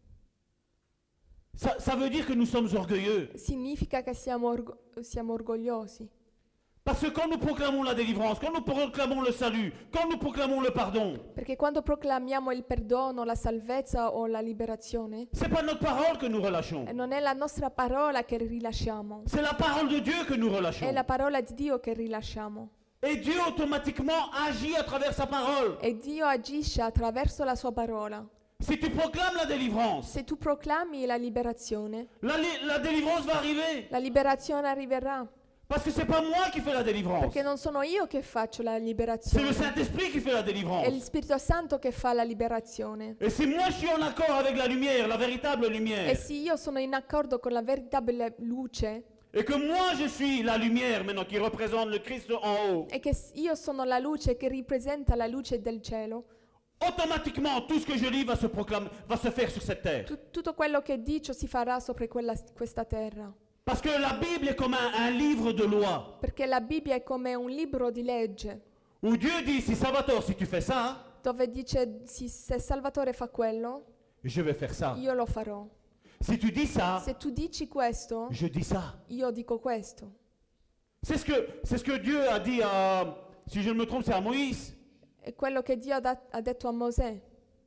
ça, ça veut dire que nous sommes orgueilleux. significa che siamo, orgo- siamo orgogliosi. Parce que quand nous proclamons la délivrance, quand nous proclamons le salut, quand nous proclamons le pardon, Perché quando proclamiamo il perdono, la salvezza o la liberazione, c'est pas notre parole que nous relâchons. e non è la nostra parola che rilasciamo, C'est la parole de Dieu que nous è relâchons. la parola di Dio che rilasciamo. Et Dieu automatiquement agit à travers sa parole. E Dio agisce attraverso la sua parola. Si tu proclames la délivrance, Se tu proclami la liberazione, la, li- la délivrance va arriver. la liberazione arriverà. Parce que c'est pas moi qui fais la délivrance. Perché non sono io che faccio la C'est le liberazione, Saint-Esprit qui fait la è il délivrance. Spirito Santo che fa la liberazione. Et si moi je suis en accord avec la lumière, la véritable lumière, E se io sono in accordo con la veritabile luce, et que moi je suis la lumière maintenant qui représente le Christ en haut, e che s- io sono la luce che rappresenta la luce del cielo, automatiquement tout ce que je lis va se proclamer, va se faire sur cette terre. tu- tutto quello che dico si farà sopra quella- questa terra. Parce que la Bible est comme un, un livre de loi, Perché la Bibbia è come un libro di legge, où Dieu dit, si Salvatore, si tu fais ça, dove dice sì, se Salvatore fa quello, je vais faire ça. io lo farò. Si tu dis ça, Se tu dici questo, je dis ça. io dico questo. C'est ce que, c'est ce que Dieu a dit à, si je ne me trompe, c'est à Moïse. È quello che Dio ha, dat- ha detto a Mosè.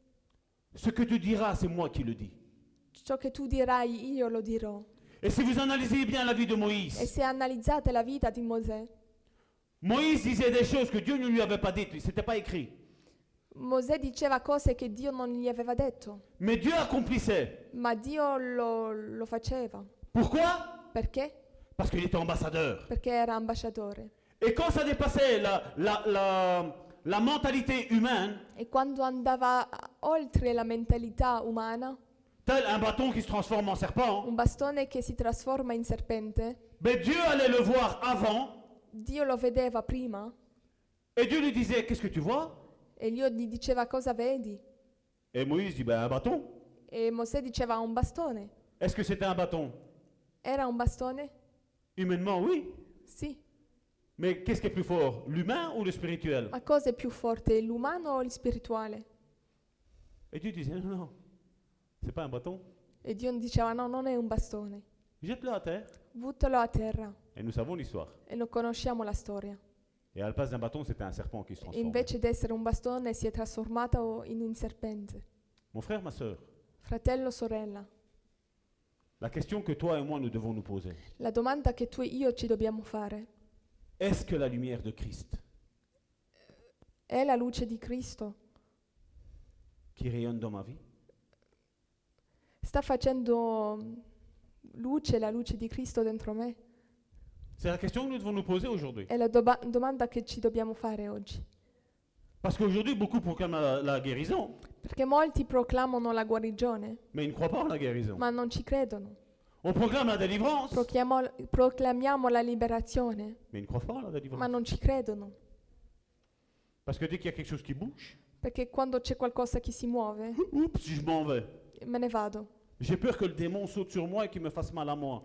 Ce que tu diras, c'est moi qui le dis. Ciò che tu dirai, io lo dirò. Et si vous analysez bien la vie de E Moïse, se analizzate la vita di Mosè, Moïse disait des choses que Dieu ne lui avait pas dites, c'était pas écrit. Mosè diceva cose che Dio non gli aveva detto, Mais Dieu accomplissait. ma Dio lo, lo faceva. Pourquoi? Perché? Parce qu'il était ambassadeur. Perché era ambasciatore. Et quand ça dépassait la, la, la, la mentalité humaine, E quando andava oltre la mentalità umana, tel un bâton qui se transforme en serpent, un bastone che si trasforma in serpente, ben Dieu allait le voir avant Dio lo vedeva prima et Dieu lui disait, qu'est-ce que tu vois? e Dio gli diceva cosa vedi? Et Moïse dit, ben un bâton. E Mosè diceva un bastone. Est-ce que c'était un bâton? Era un bastone? Humainement, oui. Sì. Mais qu'est-ce qui est plus fort, l'humain ou le spirituel? Ma cosa è più forte, l'umano o il spirituale? Et Dieu disait, non, non, c'est pas un bâton. E Dio diceva no, non è un bastone, Jette-le à terre. buttalo a terra. Et nous savons l'histoire. E non conosciamo la storia. Et à la place d'un bâton, c'était un serpent qui se E transformait. invece di essere un bastone si è trasformato in un serpente. Mon frère, ma sœur, Fratello, sorella, la question que toi et moi nous devons nous poser, la domanda che tu e io ci dobbiamo fare est-ce que la lumière de Christ è la luce di Cristo? qui rayonne dans ma vie, Sta facendo luce, la luce di Cristo dentro me? c'est la question que nous devons nous poser aujourd'hui. È la doba- domanda che ci dobbiamo fare oggi. Parce qu'aujourd'hui, beaucoup proclament la, la guérison, Perché molti proclamano la guarigione, mais ils ne croient pas en la guérison. ma non ci credono. On proclame la délivrance, Proclamiamo, proclamiamo la liberazione, mais ils ne croient pas en la ma délivrance. non ci credono. Parce que dès qu'il y a quelque chose qui bouge, Perché quando c'è qualcosa che si muove, oups, je m'en vais. me ne vado. J'ai peur que le démon saute sur moi et qu'il me fasse mal à moi.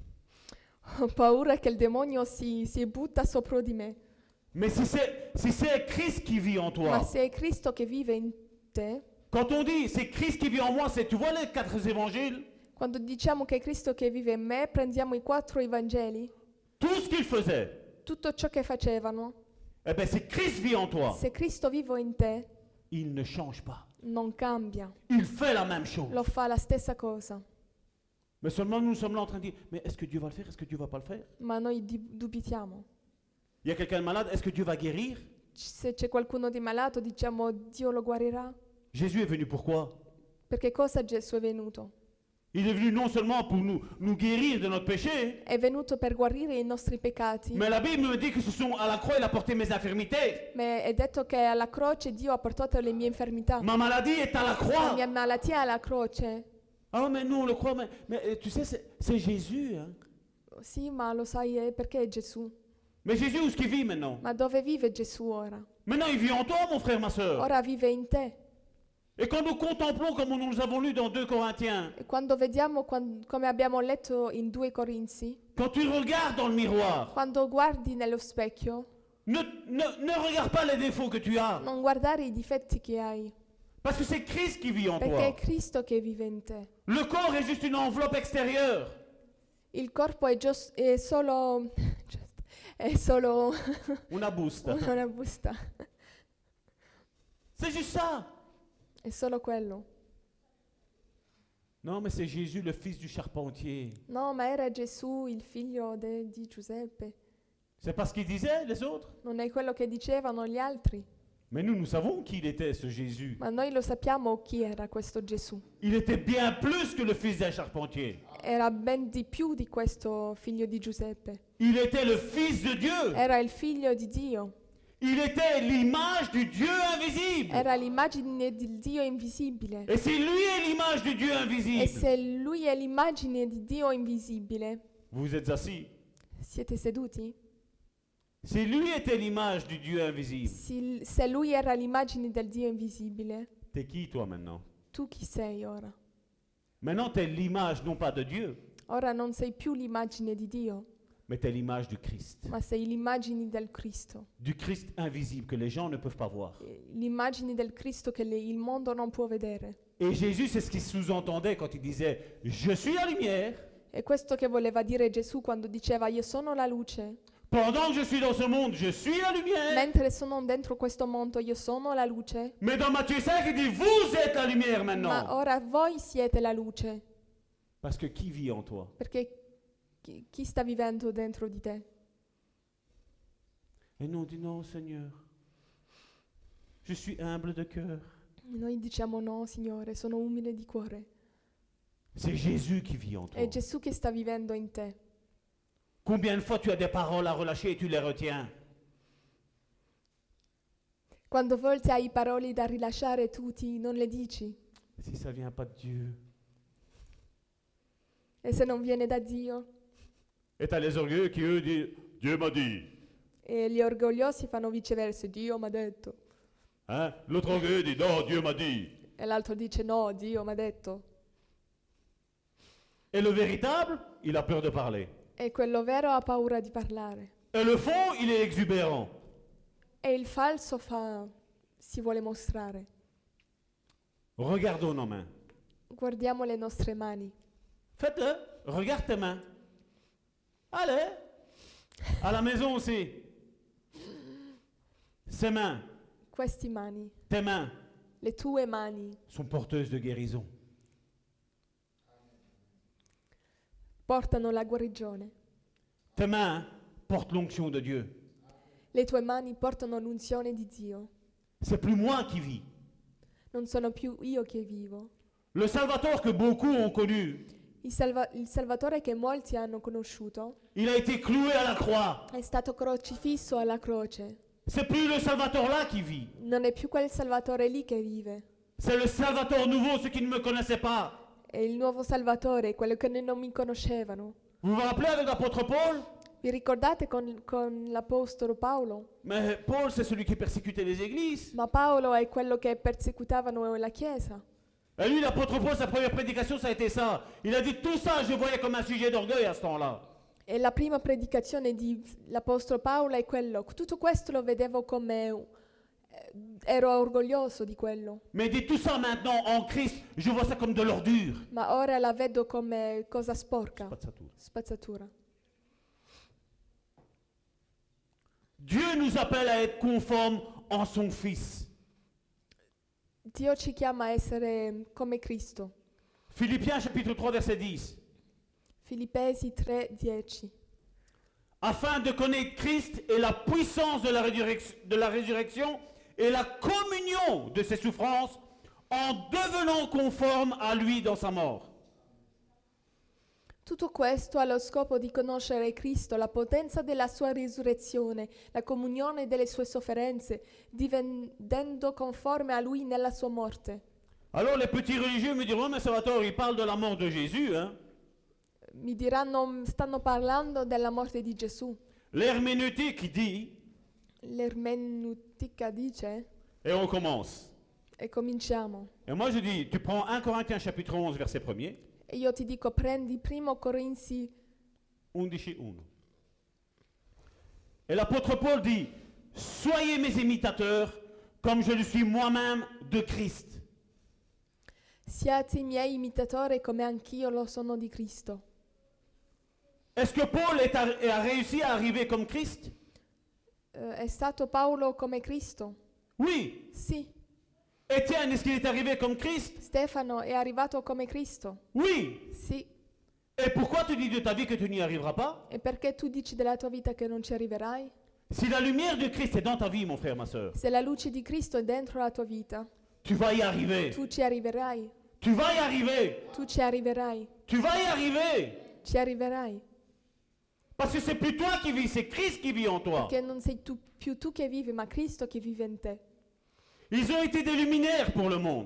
Ho paura che il demonio si, si butta sopra di me. Mais si c'est si c'est Christ qui vit en toi, Ma se è Cristo che vive in te, quand on dit c'est Christ qui vit en moi, c'est tu vois les quatre évangiles, quando diciamo che è Cristo che vive in me, prendiamo i quattro Evangeli, tout ce qu'il faisait, tutto ciò che facevano. eh ben si Christ vit en toi, Se Cristo vive in te, il ne change pas. non cambia, Il fait la même chose. lo fa la stessa cosa. Mais seulement nous sommes là en train de dire, mais est-ce que Dieu va le faire? Est-ce que Dieu va pas le faire? Ma noi di- dubitiamo. Il y a quelqu'un de malade, est-ce que Dieu va guérir? C- Se c'è qualcuno di malato, diciamo Dio lo guarirà. Jésus est venu pourquoi? Perché cosa Gesù è venuto? Il est venu non seulement pour nous, nous guérir de notre péché, È venuto per guarire i nostri peccati. mais la Bible me dit que ce sont à la croix, il a porté mes infirmités. Ma è detto che alla croce Dio ha portato le mie infermità. Ma maladie est à la La croix. mia malattia è alla croce. Ah, mais nous on le croit, mais, mais euh, tu sais, c'est c'est Jésus. Hein. Sì, ma lo sai eh, perché è Gesù? Mais Jésus, où est-ce qu'il vit maintenant? Ma dove vive Gesù ora? Maintenant, il vit en toi, mon frère, ma soeur. Ora vive in te. Et quand nous contemplons, comme nous avons lu dans deux Corinthiens, E quando vediamo, quan- come abbiamo letto in due Corinzi, quand tu regardes dans le miroir, quando guardi nello specchio, ne, ne, ne regarde pas les défauts que tu as. non guardare i difetti che hai, Parce que c'est Christ qui vit en perché è toi. Cristo che vive in te. Le corps est juste une enveloppe extérieure. Il corpo è, gios- è solo... è solo Una busta. una busta. C'est juste ça. È solo quello. Non, mais c'est Jésus, le fils du charpentier. No, ma era Gesù, il figlio de- di Giuseppe. C'est pas ce qu'ils disaient, les autres. Non è quello che dicevano gli altri. Mais nous, nous savons qui il était, ce Jésus. Ma noi lo sappiamo chi era questo Gesù. Il était bien plus que le fils d'un charpentier. Era ben di più di questo figlio di Giuseppe. Il était le fils de Dieu. Era il figlio di Dio. Il était l'image du Dieu invisible. Era l'immagine del Dio invisibile. Et si lui est l'image du Dieu E invisible, se lui è l'immagine di Dio invisibile, vous êtes assis. siete seduti? Si lui était l'image du Dieu invisible, Si- se lui era l'immagine del Dio invisibile, t'es qui toi maintenant? tu chi sei ora? Maintenant, t'es l'image non pas de Dieu, Ora non sei più l'immagine di Dio, mais t'es l'image du Christ. ma sei l'immagine del Cristo. Du Christ invisible que les gens ne peuvent pas voir. Eh, L'immagine del Cristo che le- il mondo non può vedere. Et Jésus, c'est ce qu'il sous-entendait quand il disait « Je suis la lumière, È questo che voleva dire Gesù quando diceva io sono la luce. pendant que je suis dans ce monde, je suis la lumière. Mentre sono dentro questo mondo io sono la luce. Mais dans Matthieu cinq, il dit « Vous êtes la lumière Ma maintenant. ora voi siete la luce. » Parce que qui vit en toi? Perché chi, chi sta vivendo dentro di te? Et nous, on dit « Non, Seigneur, je suis humble de cœur. Noi diciamo no, Signore, sono umile di cuore. C'est Jésus qui vit en toi. È Gesù che sta vivendo in te. Combien de fois tu as des paroles à relâcher et tu les retiens? Quando volte hai parole da rilasciare tu ti, non le dici. Si ça vient pas de Dieu. E se non viene da Dio? Et tu as les orgueilleux qui, eux, disent « Dieu m'a dit. E gli orgogliosi fanno viceversa. Dio mi ha detto. Hein? L'autre orgueilleux dit « Non, Dieu m'a dit. E l'altro dice no, Dio mi ha detto. » Et le véritable, il a peur de parler. E quello vero ha paura di parlare. Et le faux, il est exubérant. E il falso fa, si vuole mostrare. Regardons nos mains. Guardiamo le nostre mani. Faites-le. Regarde tes mains. Allez. À la maison aussi. Ces mains, Queste mani, tes mains, le tue mani, sont porteuses de guérison. portano la guarigione. Tes mains portent l'onction de Dieu. Le tue mani portano l'unzione di Dio. C'est plus moi qui vis. Non sono più io che vivo. Le Salvator que beaucoup ont connu, Il, salva- il Salvatore che molti hanno conosciuto il a été cloué à la croix. è stato crocifisso alla croce. C'est plus le Salvator là qui vit. Non è più quel Salvatore lì che vive. C'est le Salvator nouveau, ceux qui ne me connaissaient pas. È il nuovo Salvatore, quello che non mi conoscevano. Vous vous rappelez avec l'apôtre Paul? Vi ricordate con, con l'Apostolo Paolo? Mais Paul, c'est celui qui persécutait les églises. Ma Paolo è quello che persecutavano la Chiesa. Et lui, l'apôtre Paul, sa première prédication, ça a été ça. Il a dit tout ça, je voyais comme un sujet d'orgueil à ce temps-là. E la prima predicazione dell'Apostolo Paolo è quello. Tutto questo lo vedevo come... eh, ero orgoglioso di quello. Mais il dit tout ça maintenant, en Christ, je vois ça comme de l'ordure. Ma ora la vedo come cosa sporca, Spazzatura. spazzatura. Dieu nous appelle à être conformes en son Fils. Dio ci chiama a essere come Cristo. Philippiens chapitre trois, verset dix. Filippesi tre dieci. Afin de connaître Christ et la puissance de la, résurrec- de la résurrection et la communion de ses souffrances, en devenant conforme à lui dans sa mort. Tutto questo ha lo scopo di conoscere Cristo, la potenza della sua risurrezione, la comunione delle sue sofferenze, divenendo conforme a Lui nella sua morte. Alors les petits religieux me diront, mais Salvatore, il parle de la mort de Jésus. Hein? Mi diranno, stanno parlando della morte di Gesù. L'herméneutique dit, L'ermeneutica dice, et on commence. e cominciamo. Et moi je dis, tu prends un Corinthiens chapitre onze, verset premier. E io ti dico, prendi primo Corinzi undici uno. Et l'apôtre Paul dit, soyez mes imitateurs comme je le suis moi-même de Christ. siate i miei imitatori come anch'io lo sono di Cristo. Est-ce que Paul est a, a réussi à arriver comme Christ? Eh, è stato Paolo come Cristo? Oui. Sì. Étienne, est-ce qu'il est arrivé comme Christ? Stefano è arrivato come Cristo? Oui. Sì. Et pourquoi tu dis de ta vie que tu n'y arriveras pas? E perché tu dici della tua vita che non ci arriverai? Si la lumière de Christ est dans ta vie, mon frère, ma soeur, Se la luce di Cristo è dentro la tua vita, tu vas y arriver. tu ci arriverai. Tu vas y arriver. Tu ci arriverai. Tu vas y arriver. Ci arriverai. Parce que c'est plus toi qui vis, c'est Christ qui vit en toi. Perché non sei tu, più tu che vivi, ma Cristo che vive in te. Ils ont été des luminaires pour le monde.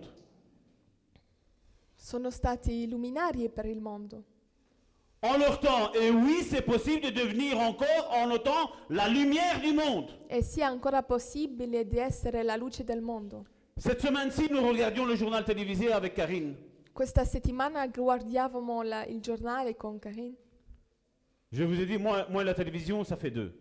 Sono stati luminari per il mondo. En leur temps, et oui, c'est possible de devenir encore en notre temps la lumière du monde. E sia ancora possibile di essere la luce del mondo. Cette semaine-ci, nous regardions le journal télévisé avec Karine. Questa settimana guardavamo la- il giornale con Karin. Je vous ai dit, moi, moi et la télévision, ça fait deux.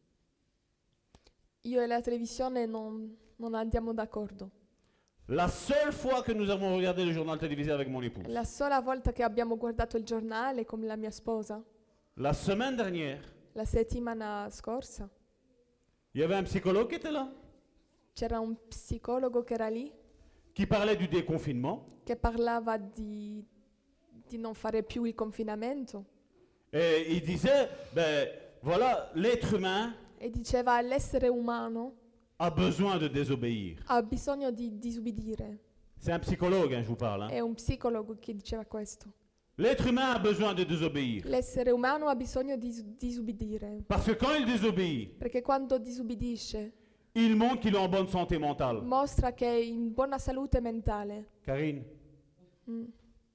Io e la televisione non, non andiamo d'accordo. La seule fois que nous avons regardé le journal télévisé avec mon épouse, La sola volta che abbiamo guardato il giornale con la mia sposa, la semaine dernière, la settimana scorsa, il y avait un psychologue qui était là, c'era un psicologo che era lì, qui parlait du déconfinement. che parlava di, di non fare più il confinamento Et il disait, ben voilà, l'être humain e diceva l'essere umano a besoin de désobéir. ha bisogno di disubbidire. C'est un psychologue, hein, je vous parle. hein. È un psicologo che diceva questo. L'être humain a besoin de désobéir. L'essere umano ha bisogno di dis- disubbidire, Parce que quand il désobéit, perché quando disubbidisce il montre qu'il est en bonne santé mentale. mostra che è in buona salute mentale. Karine, Mm,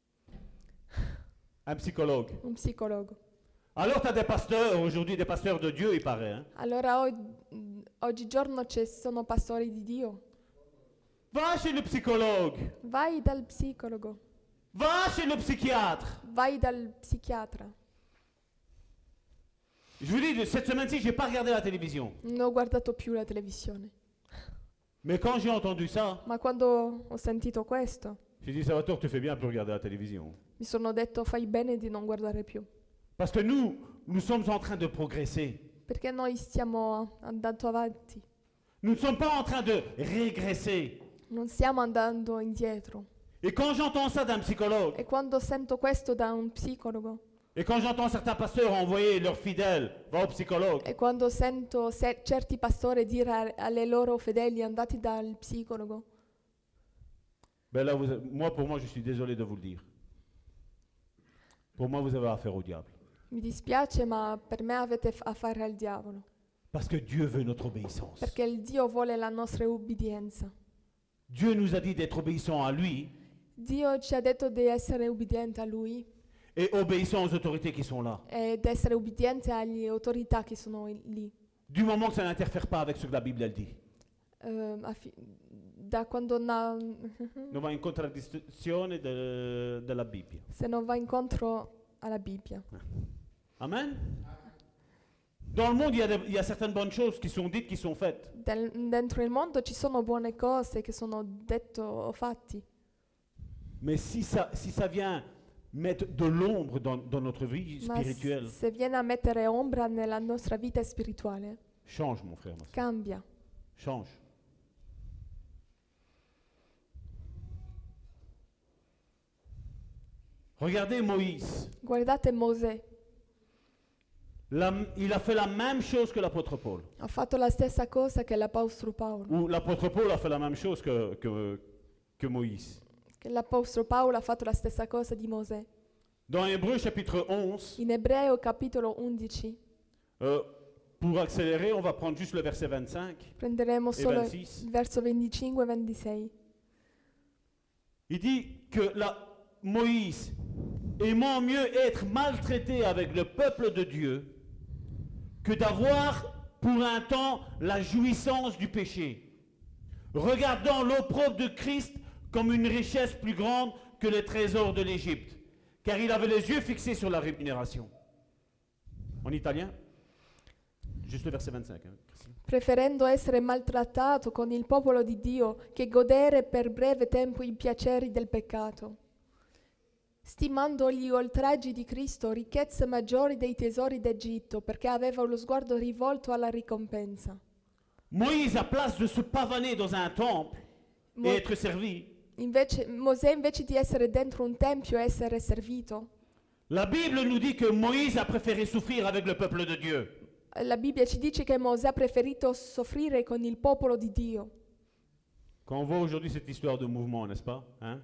un psychologue. un psicologo. Alors tu as des pasteurs, aujourd'hui des pasteurs de Dieu, il paraît. hein. Allora o- mm, oggigiorno ci sono pastori di Dio. Va chez le psychologue. Vai dal psicologo. Va chez le psychiatre. vai dal psichiatra. Je vous dis, cette semaine-ci, je n'ai pas regardé la télévision. Non ho guardato più la televisione. Mais quand j'ai entendu ça, Ma quando ho sentito questo, j'ai dit, Salvatore, tu fais bien de plus regarder la télévision. mi sono detto fai bene di non guardare più. Parce que nous, nous sommes en train de progresser. Perché noi stiamo andando avanti, Nous ne sommes pas en train de régresser. non stiamo andando indietro. Et quand j'entends ça d'un psychologue, E quando sento questo da un psicologo, et quand j'entends certains pasteurs envoyer leurs fidèles, va au psychologue, e quando sento se- certi pastori dire a- alle loro fedeli andati dal psicologo, ben là, vous, moi, pour moi, je suis désolé de vous le dire. Pour moi, vous avez affaire au diable. mi dispiace, ma per me avete f- a fare al diavolo. Parce que Dieu veut notre obéissance. Perché il Dio vuole la nostra ubbidienza. Dieu nous a dit d'être obéissants à lui Dio ci ha detto di essere ubbidienti a Lui et obéissants aux autorités qui sont là. ed essere ubbidienti alle autorità che sono i- lì. Du moment que ça n'interfère pas avec ce que la Bible elle dit. Ehm, affi- da quando na- Non va in contraddizione de- della Bibbia. se non va incontro alla Bibbia. Amen. Dans le monde, il y, a des- il y a certaines bonnes choses qui sont dites, qui sont faites. Del- dentro il mondo ci sono buone cose che sono detto o fatti, Mais si ça, si ça vient mettre de l'ombre dans, dans notre vie ma spirituelle, s- se viene a mettere ombra nella nostra vita spirituale, change, mon frère, ma soeur. cambia. Change. Regardez Moïse. Guardate Mosè, La- il a fait la même chose que l'apôtre Paul. ha fatto la stessa cosa che l'Apostolo Paolo, Ou l'apôtre Paul a fait la même chose que, que, que Moïse. che l'Apostolo Paolo ha fatto la stessa cosa di Mosè. Dans Hébreux chapitre onze, In Ebreo capitolo undici euh, pour accélérer, on va prendre juste le verset vingt-cinq prenderemo et solo vingt-six. il verso venticinque e ventisei. Il dit que la, Moïse, aimant mieux être maltraité avec le peuple de Dieu que d'avoir pour un temps la jouissance du péché, regardant l'opprobre de Christ comme une richesse plus grande que les trésors de l'Égypte, car il avait les yeux fixés sur la rémunération. En italien, juste le verset vingt-cinq. hein, Christine. Preferendo essere maltrattato con il popolo di Dio che godere per breve tempo i piaceri del peccato, stimando gli oltraggi di Cristo ricchezze maggiori dei tesori d'Egitto, perché aveva lo sguardo rivolto alla ricompensa. Moïse, à place de se pavaner dans un temple Mo- et être servi, invece, Mosè invece di essere dentro un tempio e essere servito, la Bible nous dit que Moïse a préféré souffrir avec le peuple de Dieu. la Bibbia ci dice che Mosè ha preferito soffrire con il popolo di Dio. Quand on voit aujourd'hui cette histoire de mouvement, n'est-ce pas, hein?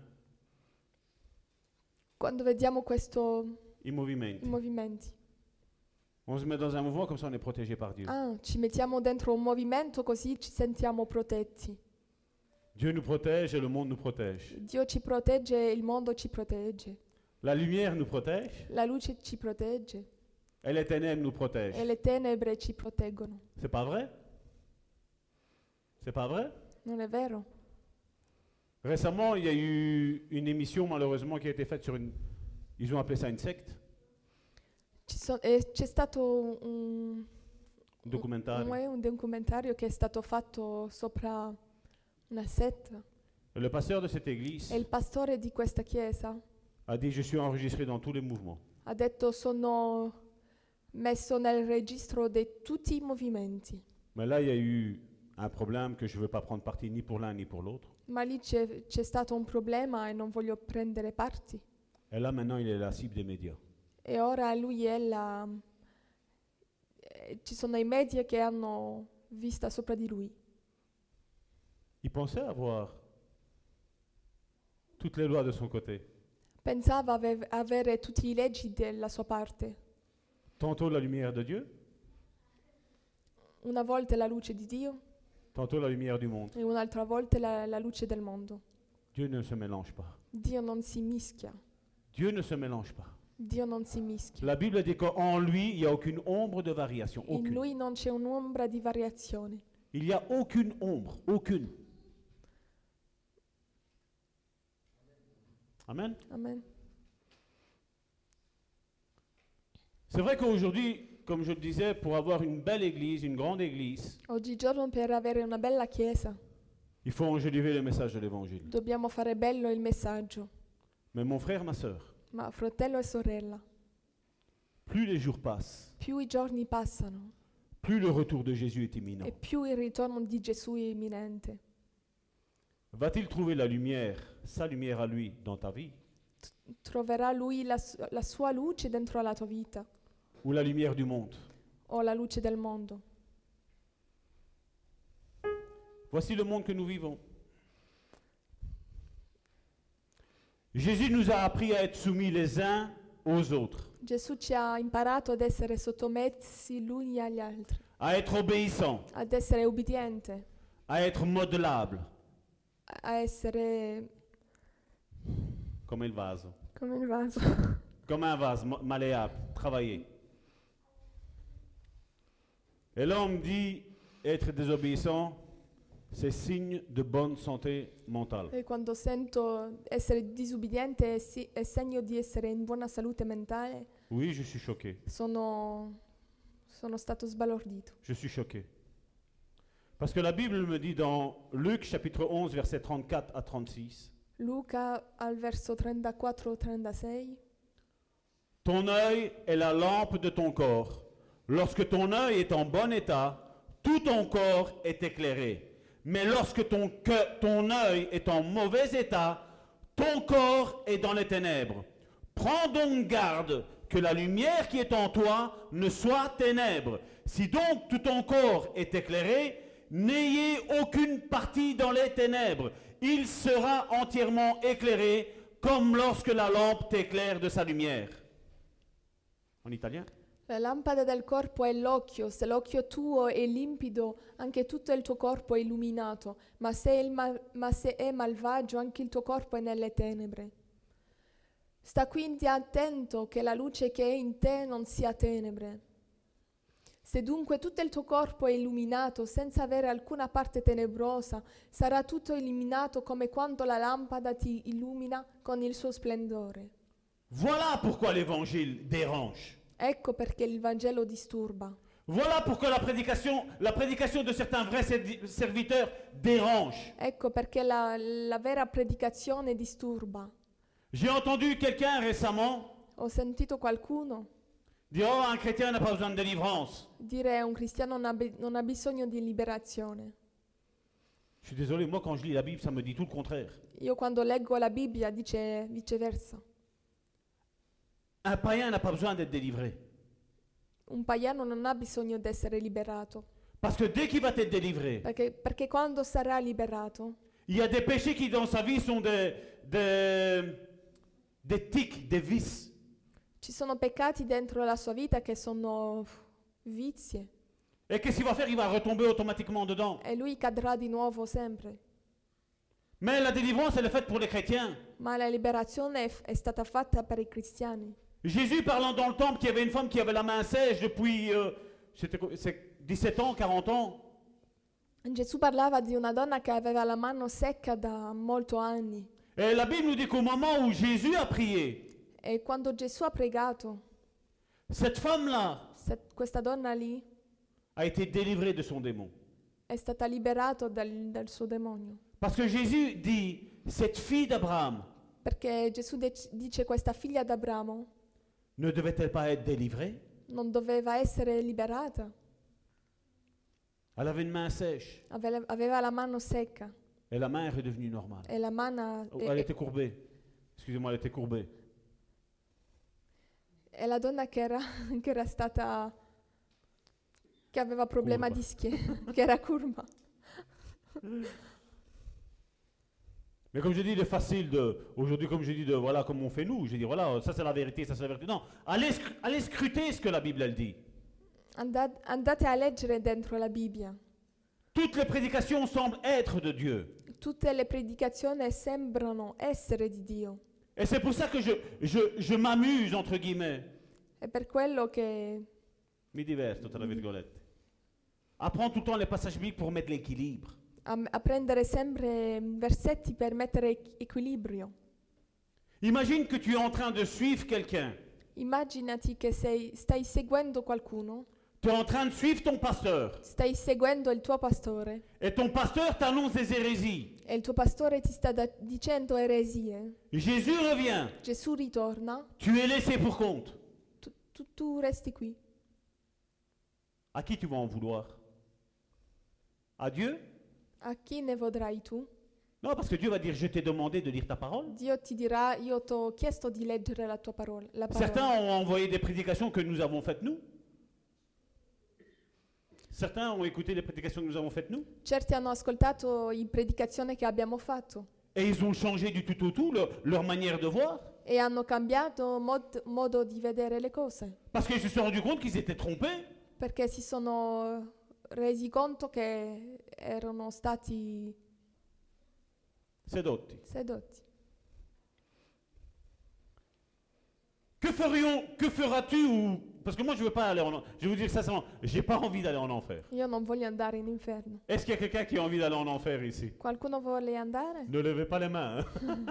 Quando vediamo questo, I movimenti. i movimenti, On se met dans un mouvement comme ça on est protégé par Dieu. ah, ci mettiamo dentro un movimento così ci sentiamo protetti. Dieu nous protège et le monde nous protège. Dio ci protegge, il mondo ci protegge, La lumière nous protège la luce ci protegge et les ténèbres nous protègent. e le tenebre ci proteggono. C'est pas vrai? C'est pas vrai? Non è vero? Récemment, il y a eu une émission malheureusement qui a été faite sur une... Ils ont appelé ça une secte, Ci so- eh, c'è stato un, un documentaire. un, un documentario che è stato fatto sopra una setta Le pasteur de cette église e il pastore di questa chiesa a dit, je suis enregistré dans tous les mouvements. ha detto sono messo nel registro di tutti i movimenti, Mais là, il y a eu un problème que je ne veux pas prendre parti ni pour l'un ni pour l'autre. ma lì c'è, c'è stato un problema e non voglio prendere parti. Et là, maintenant, il est la cible des médias. E ora lui è la... eh, ci sono i media che hanno vista sopra di lui. Il pensait avoir toutes les lois de son côté. Pensava ave- avere tutte le leggi della sua parte. Tantôt la lumière de Dieu, Una volta la luce di Dio tantôt la lumière du monde. e un'altra volta la, la luce del mondo. Dieu ne se mélange pas. Dio non si mischia. Dieu ne se mélange pas. Dio non si mischia. La Bible dit qu'en lui, il n'y a aucune ombre de variation. In Aucune. lui non c'è un'ombra di variazione. Il n'y a aucune ombre. Aucune. Amen. Amen. C'est vrai qu'aujourd'hui, comme je le disais, pour avoir une belle église, une grande église, Oggigiorno per avere una bella chiesa il faut enjoliver le message de l'évangile. dobbiamo fare bello il messaggio. Mais mon frère, ma sœur, Ma fratello e sorella, plus les jours passent, più i giorni passano plus le retour de Jésus est imminent. e più il ritorno di Gesù è imminente. Va-t-il trouver la lumière, sa lumière à lui, dans ta vie, Troverà lui la, su- la sua luce dentro la tua vita ou la lumière du monde? o la luce del mondo? Voici le monde que nous vivons. Jésus nous a appris à être soumis les uns aux autres, Gesù ci ha imparato ad essere sottomessi l'uni agli altri, à être obéissants, ad essere ubbidiente, à être modelables, a essere comme il vase, come il vaso, comme un vase mo- malléable, travailler. Et là, on me dit, être désobéissant, c'est signe de bonne santé mentale. E quando sento essere disubbidiente è, si- è segno di essere in buona salute mentale, Oui, je suis choqué. sono, sono stato sbalordito. Je suis choqué. Parce que la Bible me dit dans Luc chapitre onze, versets trente-quatre à trente-six, Luca al verso trentaquattro trentasei. ton œil est la lampe de ton corps. Lorsque ton œil est en bon état, tout ton corps est éclairé. Mais lorsque ton, que- ton œil est en mauvais état, ton corps est dans les ténèbres. Prends donc garde que la lumière qui est en toi ne soit ténèbres. Si donc tout ton corps est éclairé, n'ayez aucune partie dans les ténèbres. Il sera entièrement éclairé comme lorsque la lampe t'éclaire de sa lumière. En italien? La lampada del corpo è l'occhio, se l'occhio tuo è limpido, anche tutto il tuo corpo è illuminato, ma se, il mal- ma se è malvagio, anche il tuo corpo è nelle tenebre. Sta quindi attento che la luce che è in te non sia tenebre. Se dunque tutto il tuo corpo è illuminato senza avere alcuna parte tenebrosa, sarà tutto illuminato come quando la lampada ti illumina con il suo splendore. Voilà pourquoi l'évangile dérange. Ecco perché il Vangelo disturba. Voilà pourquoi la prédication, la prédication de certains vrais servi- serviteurs dérange. Ecco perché la, la vera predicazione disturba. J'ai entendu quelqu'un récemment Ho sentito qualcuno dire oh, un chrétien n'a pas besoin de délivrance. dire un cristiano non ha, bi- non ha bisogno di liberazione. Je suis désolé, moi quand je lis la Bible, ça me dit tout le contraire. Io quando leggo la Bibbia dice viceversa. Un païen n'a pas besoin d'être délivré. Un pagano non ha bisogno di essere liberato, Parce que dès qu'il va être délivré, perché, perché quando sarà liberato il y a des péchés qui dans sa vie sont des, des, des tics, des vices. ci sono peccati dentro la sua vita che sono uff, vizie Et qu'est-ce qu'il va faire? Il va retomber automatiquement dedans. e lui cadrà di nuovo sempre. Mais la délivrance, elle est faite pour les chrétiens. Ma la liberazione è, f- è stata fatta per i cristiani. Jésus parlant dans le temple qu'il y avait une femme qui avait la main sèche depuis euh, c'était quoi, c'est dix-sept ans, quarante ans. Gesù parlava di una donna che aveva la mano secca da molti anni. Et la Bible nous dit qu'au moment où Jésus a prié, E quando Gesù ha pregato, cette femme-là se- questa donna lì a été délivrée de son démon. è stata liberata dal, dal suo demonio. Parce que Jésus dit, cette fille d'Abraham Perché Gesù dec- dice questa figlia d'Abramo ne devait-elle pas être délivrée? non doveva essere liberata, Elle avait une main sèche Ave- aveva la mano secca et la main est redevenue normale. e la mano Oh, e, elle était courbée. Excusez-moi, elle était courbée. e la donna che era, che era stata che aveva problema Curva. di schiena, che era curva. Mais comme je dis, il est facile de, aujourd'hui, comme je dis, de, voilà, comme on fait nous, je dis, voilà, ça c'est la vérité, ça c'est la vérité. Non, allez, scr- allez scruter ce que la Bible, elle dit. Anda- andate a leggere dentro la Bibbia. Toutes les prédications semblent être de Dieu. Tutte le predicazioni sembrano essere di Dio. Et c'est pour ça que je, je, je m'amuse, entre guillemets. È per quello che Mi diverto, tra virgolette. Apprends tout le temps les passages bibliques pour mettre l'équilibre. a, a prendere sempre versetti per mettere equ- equilibrio. Imagine que tu es en train de suivre quelqu'un. Immaginati che sei, stai seguendo qualcuno, Tu es en train de suivre ton pasteur. stai seguendo il tuo pastore Et ton pasteur t'annonce des hérésies. e il tuo pastore ti sta da- dicendo eresie. Jésus revient. Gesù ritorna, Tu es laissé pour compte. tu, tu- tu resti qui. À qui tu vas en vouloir? À Dieu? A chi ne vorrai tu? Non, parce que Dieu va dire, je t'ai demandé de lire ta parole. Dio ti dirà, io ti ho chiesto di leggere la tua parola. La parola. Certains ont envoyé des prédications que nous avons faites nous. Certains ont écouté les prédications que nous avons faites nous. Certi hanno ascoltato in predicazione che abbiamo fatto Et ils ont changé du tout au tout leur, leur manière de voir. e hanno cambiato mod- modo di vedere le cose, Parce qu'ils se sont rendus compte qu'ils étaient trompés. perché si sono resi conto che erano stati Sedotti. sedotti. Que ferions, que feras-tu ou... Parce que moi je veux pas aller en... Je vais vous dire ça sans... J'ai pas envie d'aller en enfer. Io non voglio andare in inferno. Est-ce qu'il y a quelqu'un qui a envie d'aller en enfer ici? Qualcuno vuole andare? Ne levez pas les mains. hein.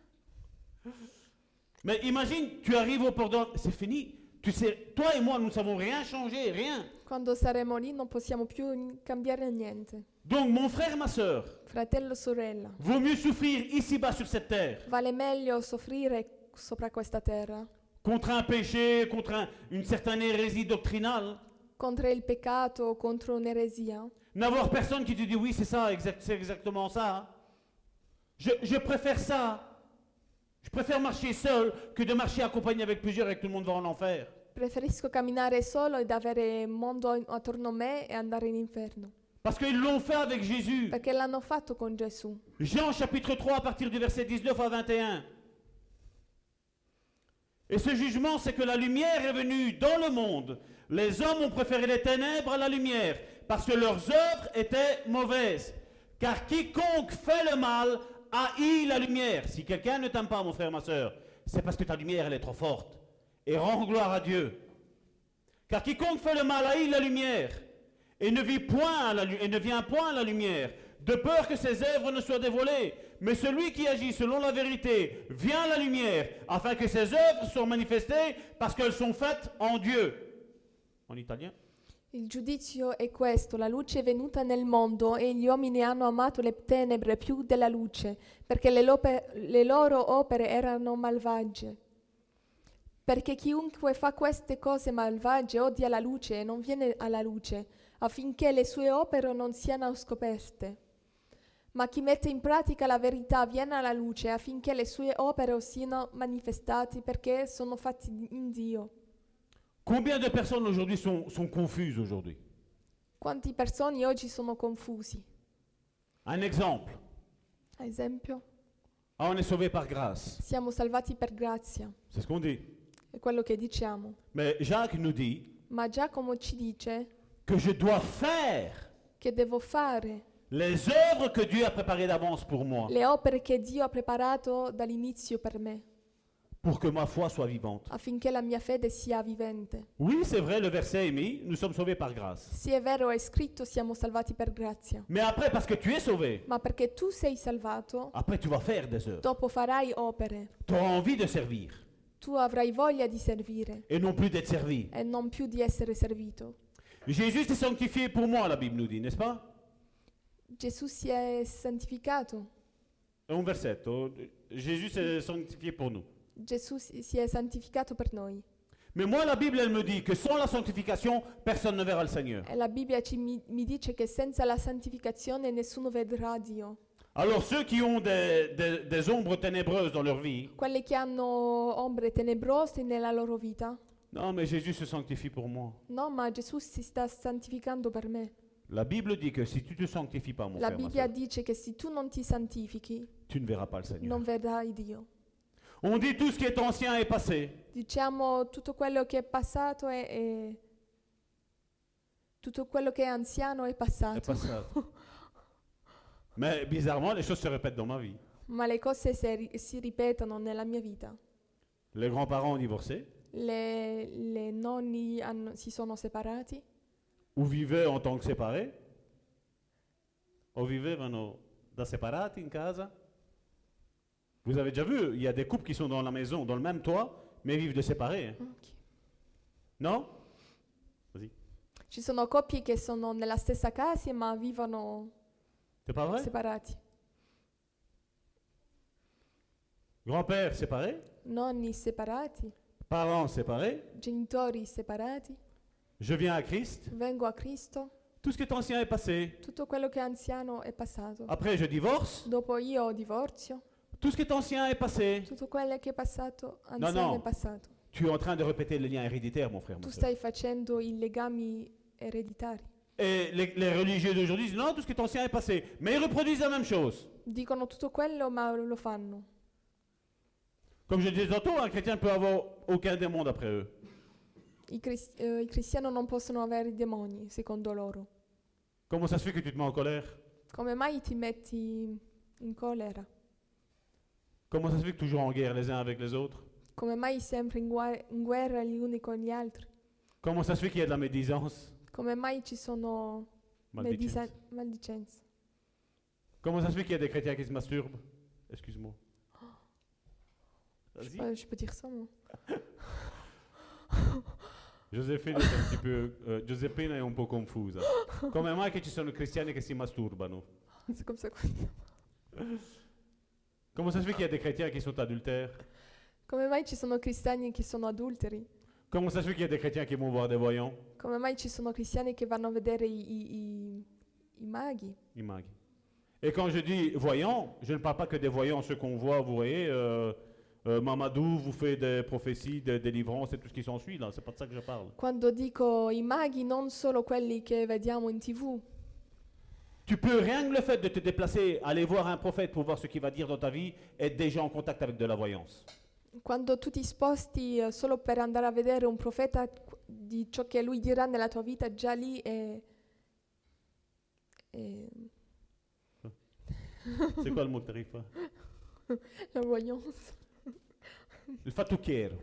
Mais imagine, tu arrives au port d'Or- c'est fini. Tu sais, toi et moi, nous ne savons rien changer, rien. Quando saremo lì non possiamo più in- cambiare niente. Donc, mon frère, ma soeur, Fratello, sorella, vaut mieux souffrir ici-bas sur cette terre vale meglio soffrire sopra questa terra contre un péché, contre un- une certaine hérésie doctrinale. contro il peccato o contro un'eresia. N'avoir personne qui te dit oui, c'est ça, exact, c'est exactement ça. Je, je préfère ça. Je préfère marcher seul que de marcher accompagné avec plusieurs et que tout le monde va en enfer. Preferisco camminare solo ed avere il mondo in- attorno a me e andare in inferno. Parce qu'ils l'ont fait avec Jésus. Perché l'hanno fatto con Gesù. Jean chapitre trois à partir du verset dix-neuf à vingt et un. Et ce jugement, c'est que la lumière est venue dans le monde. Les hommes ont préféré les ténèbres à la lumière parce que leurs œuvres étaient mauvaises. Car quiconque fait le mal haït la lumière. Si quelqu'un ne t'aime pas, mon frère, ma soeur, c'est parce que ta lumière, elle est trop forte. Et rends gloire à Dieu. Car quiconque fait le mal haït la lumière et ne, vit point à la lu- et ne vient point à la lumière, de peur que ses œuvres ne soient dévoilées. Mais celui qui agit selon la vérité vient à la lumière, afin que ses œuvres soient manifestées, parce qu'elles sont faites en Dieu. En italien. Il giudizio è questo, la luce è venuta nel mondo e gli uomini hanno amato le tenebre più della luce, perché le, lope- le loro opere erano malvagie. Perché chiunque fa queste cose malvagie odia la luce e non viene alla luce, affinché le sue opere non siano scoperte. Ma chi mette in pratica la verità viene alla luce affinché le sue opere siano manifestate perché sono fatti in Dio. Combien de personnes aujourd'hui sont, sont confuses aujourd'hui? Quante persone oggi sono confusi? Un exemple. Ad esempio, Ah, on est sauvé par grâce. siamo salvati per grazia, C'est ce qu'on dit. è quello che diciamo. Mais Jacques nous dit Ma Giacomo ci dice que je dois faire che devo fare les œuvres que Dieu a préparées d'avance pour moi, le opere che Dio ha preparato dall'inizio per me, pour que ma foi soit vivante. affinché la mia fede sia vivente. Oui, c'est vrai, le verset est mis, nous sommes sauvés par grâce. Sì, è vero, è scritto siamo salvati per grazia, Mais après, parce que tu es sauvé, ma perché tu sei salvato, après tu vas faire des œuvres. dopo farai opere. Tu auras envie de servir Tu avrai voglia di servire et non plus d'être servi. e non più di essere servito. Jésus s'est sanctifié pour moi, la Bible nous dit, n'est-ce pas? Gesù si è santificato. Un versetto. Jésus s'est sanctifié pour nous. Gesù si si è santificato per noi. Mais moi, la Bible, elle me dit que sans la sanctification, personne ne verra le Seigneur. E la Bibbia ci, mi, mi dice che senza la santificazione nessuno vedrà Dio. Alors ceux qui ont des, des- des ombres ténébreuses dans leur vie, Quelli che hanno ombre tenebrose nella loro vita, non mais Jésus se sanctifie pour moi. no, ma Gesù si sta santificando per me. La Bible dit que si tu te sanctifies pas, mon La frère, ma Bibbia sœur, dice che se tu non ti santifichi, tu ne verras pas le Seigneur. non vedrai Dio. On dit tout ce qui est ancien est passé. Diciamo tutto quello che è passato è, è- tutto quello che è anziano è Est passato. passato. Mais bizarrement, les choses se répètent dans ma vie. Ma le cose se ri- si ripetono nella mia vita. Les grands-parents ont divorcé Le, le nonni hanno- si sono separati ou vivaient en tant que séparés. O vivevano da separati in casa. Vous avez déjà vu, il y a des couples qui sont dans la maison, dans le même toit, mais vivent de séparés. hein. Ok. Non? Vas-y. Ci sono coppie che sono nella stessa casa ma vivono C'est pas vrai? separati. Grand-père séparé, Nonni separati, parents séparés. genitori separati. Je viens à Christ. Vengo a Cristo, Tout ce qui est ancien est passé. tutto quello che è anziano è passato. Après, je divorce. Dopo io divorzio, Tout ce qui est ancien est passé. tutto quello che è passato, anziano no. è passato. Tu es en train de répéter le lien héréditaire, mon frère, mon Tu frère. stai facendo i legami ereditari. Et les, les religieux d'aujourd'hui disent non, tout ce qui est ancien est passé. Mais ils reproduisent la même chose. Dicono tutto quello ma lo fanno. Comme je disais tantôt, un chrétien ne peut avoir aucun démon d'après eux. I, cris- eh, I cristiani non possono avere i demoni, secondo loro. Comment ça se fait que tu te mets en colère? Come mai ti metti in collera? Comment ça se fait que toujours en guerre les uns avec les autres? Come mai sempre in, gua- in guerra gli uni con gli altri? Comment ça se fait qu'il y a de la médisance? Come mai ci sono Maldicenza. medisa- maldicenze? Comment ça se fait qu'il y a des chrétiens qui se masturbent? Excuse-moi. Je Vas-y. peux, je peux dire ça, moi. Josephine è un tipo, eh, Giuseppina è un po' confusa. Come mai che ci sono cristiani che si masturbano? C'est comme ça qu'on- Comment ça se fait qu'il y a des chrétiens qui sont adultères? Come mai ci sono cristiani che sono adulteri? Comment ça se fait qu'il y a des chrétiens qui vont voir des voyants? Come mai ci sono cristiani che vanno a vedere i, i- i- i maghi? Il mag. Et quand je dis voyants, je ne parle pas que des voyants, ceux qu'on voit, vous voyez, euh, euh, Mamadou vous fait des prophéties, des délivrances et tout ce qui s'ensuit, là, c'est pas de ça que je parle. Quando dico i maghi, non solo quelli che vediamo in tv. Tu peux, rien que le fait de te déplacer, aller voir un prophète pour voir ce qu'il va dire dans ta vie, être déjà en contact avec de la voyance. Quando tu ti sposti eh, solo per andare a vedere un profeta qu- di ciò che lui dirà nella tua vita, già lì è... è C'est quoi le mot que t'arrives pas? la voyance. Il fatouquier.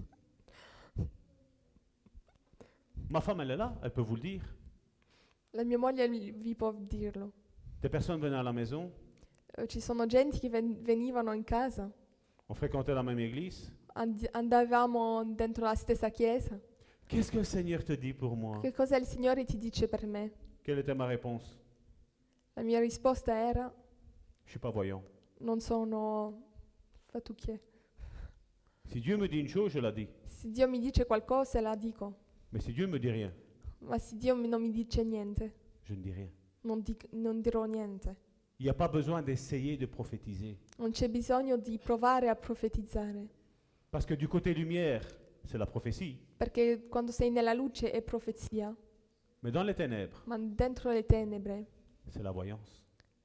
Ma femme, elle est là, elle peut vous le dire. La mia moglie vi vi può dirlo. Des personnes venaient à la maison, Eh, Ci sono genti che ven- venivano in casa, on fréquentait la même église. and- andavamo dentro la stessa chiesa. Qu'est-ce que le Seigneur te dit pour moi? Che cosa il Signore ti dice per me? Quelle était ma réponse? La mia risposta era: Je suis pas voyant. non sono fattucchiere. Si Dieu me dit une chose, je la dis. Se Dio mi dice qualcosa, la dico. Mais si Dieu me dit rien, Ma se Dio mi- non mi dice niente, je ne dis rien. non, dic- non dirò niente. Il n'y a pas besoin d'essayer de prophétiser. Non c'è bisogno di provare a profetizzare, Parce que du côté lumière, c'est la prophétie. perché quando sei nella luce è profezia, Mais dans les ténèbres, ma dentro le tenebre c'est la voyance.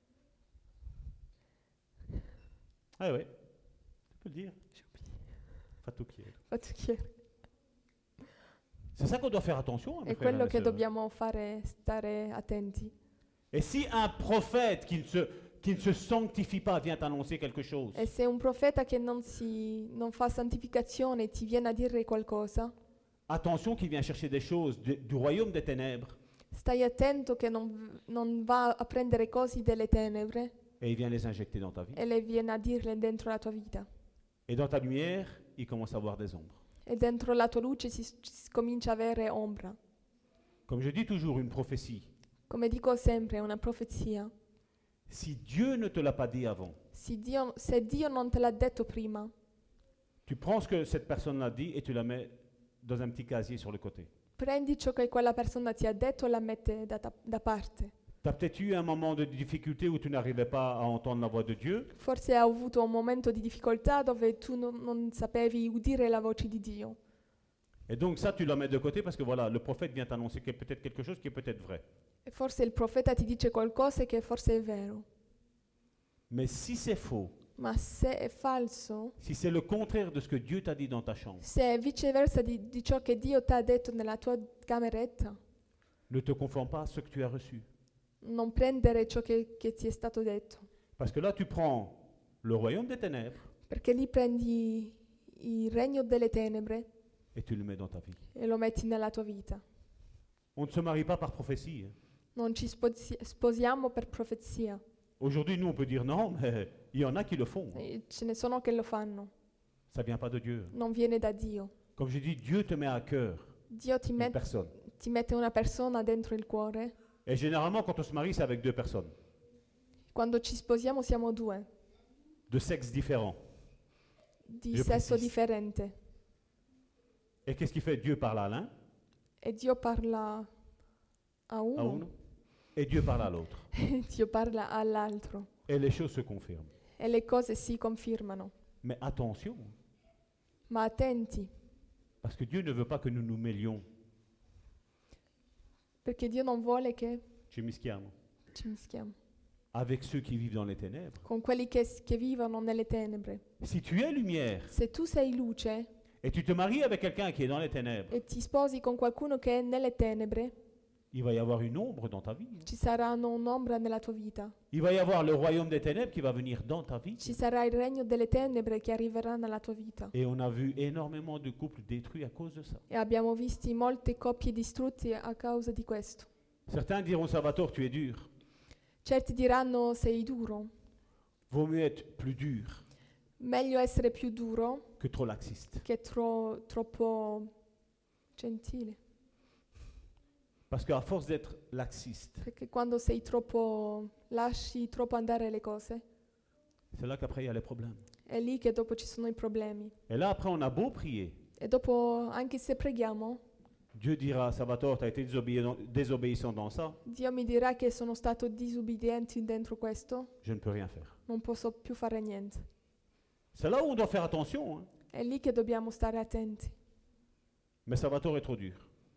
Ah oui, tu peux le dire. Fatouquier. fattucchiere. C'est ça qu'on doit faire attention. hein, mes È frères et quello mes che sœurs. dobbiamo fare, stare attenti. Et si un prophète qui ne, se, qui ne se sanctifie pas vient annoncer quelque chose, E se un profeta che non, si, non fa santificazione ti viene a dire qualcosa, attention qu'il vient chercher des choses de- du royaume des ténèbres stai attento che non, non va a prendere cose delle tenebre et il vient les injecter dans ta vie. e le viene a dirle dentro la tua vita. Et dans ta lumière, il commence à avoir des ombres. E dentro la tua luce si, si comincia a avere ombra. Comme je dis toujours, une prophétie. Come dico sempre, è una profezia. Si Dieu ne te l'a pas dit avant, Se Dio, se Dio non te l'ha detto prima, tu prends ce que cette personne l'a dit et tu la mets dans un petit casier sur le côté. prendi ciò che quella persona ti ha detto e la mette da, da- da parte. Tu as peut-être eu un moment de difficulté où tu n'arrivais pas à entendre la voix de Dieu. Forse hai avuto un momento di difficoltà dove tu non, non sapevi udire la voce di Dio. Et donc ça, tu la mets de côté parce que voilà, le prophète vient t'annoncer que peut-être quelque chose qui est peut-être vrai. E forse il profeta ti dice qualcosa che forse è vero. Mais si c'est faux, Ma se è falso, si c'est le contraire de ce que Dieu t'a dit dans ta chambre, se è viceversa di, di ciò che Dio ti ha detto nella tua cameretta, ne te conforme pas à ce que tu as reçu. non prendere ciò che, che ti è stato detto. Parce que là, tu prends le royaume des ténèbres Perché lì prendi il regno delle tenebre et tu le mets dans ta vie. e lo metti nella tua vita. On ne se marie pas par prophétie. hein. Non ci sposi- sposiamo per profezia. Aujourd'hui, nous, on peut dire non, mais il y en a qui le font. E ce ne sono che lo fanno. Ça ne vient pas de Dieu. Non viene da Dio. Comme je dis, Dieu te met à cœur Dio ti, une met- personne. ti mette una persona dentro il cuore. Et généralement, quand on se marie, c'est avec deux personnes, Quando ci sposiamo siamo due, de sexes différents. di Je sesso précise. differente. Et qu'est-ce qu'il fait? Dieu parle à l'un, E Dio parla a à uno, uno, et Dieu parle à l'autre. e Dio parla all'altro. Et les choses se confirment. E le cose si confermano. Mais attention, Ma attenti, parce que Dieu ne veut pas que nous nous mêlions. perché Dio non vuole che Ci mischiamo. ci mischiamo Avec ceux qui vivent dans les ténèbres. con quelli che, che vivono nelle tenebre. Si tu es lumière Se tu sei luce et tu te maries avec quelqu'un qui est dans les ténèbres, e ti sposi con qualcuno che è nelle tenebre, il va y avoir une ombre dans ta vie. ci saranno un'ombra nella tua vita. Il va y avoir le royaume des ténèbres qui va venir dans ta vie. Ci sarà il regno delle tenebre che arriverà nella tua vita. Et on a vu énormément de couples détruits à cause de ça. E abbiamo visto molte coppie distrutte a causa di questo. Certains diront, Salvatore, tu es dur. Certi diranno sei duro. Vaut mieux être plus dur Meglio essere più duro que trop laxiste. che tro- troppo gentile. Parce qu'à force d'être laxiste, Perché quando sei troppo, lasci troppo andare le cose, c'est là qu'après il y a les problèmes. è lì che dopo ci sono i problemi. Et là, après, on a beau prier. E dopo, anche se preghiamo, Dieu dira, Salvatore, tu as été désobéissant, désobéissant dans ça, Dio mi dirà che sono stato disubbidiente dentro questo, je ne peux rien faire. non posso più fare niente. C'est là où on doit faire attention. Hein. È lì che dobbiamo stare attenti. Mais Salvatore est trop dur.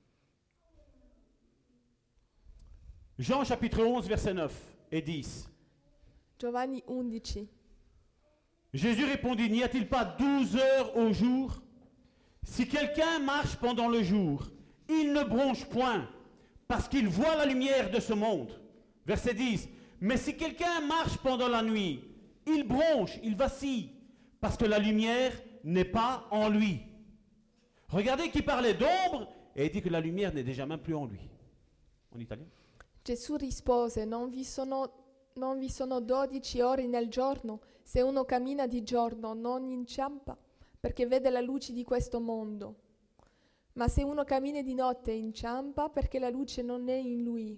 Jean chapitre onze, versets neuf et dix. Giovanni undici. Jésus répondit, n'y a-t-il pas douze heures au jour? Si quelqu'un marche pendant le jour, il ne bronche point, parce qu'il voit la lumière de ce monde. Verset dix. Mais si quelqu'un marche pendant la nuit, il bronche, il vacille, parce que la lumière n'est pas en lui. Regardez qui parlait d'ombre, et il dit que la lumière n'est déjà même plus en lui. En italien. Gesù rispose, non vi sono, non vi sono dodici ore nel giorno, se uno cammina di giorno non inciampa, perché vede la luce di questo mondo. Ma se uno cammina di notte inciampa, perché la luce non è in lui.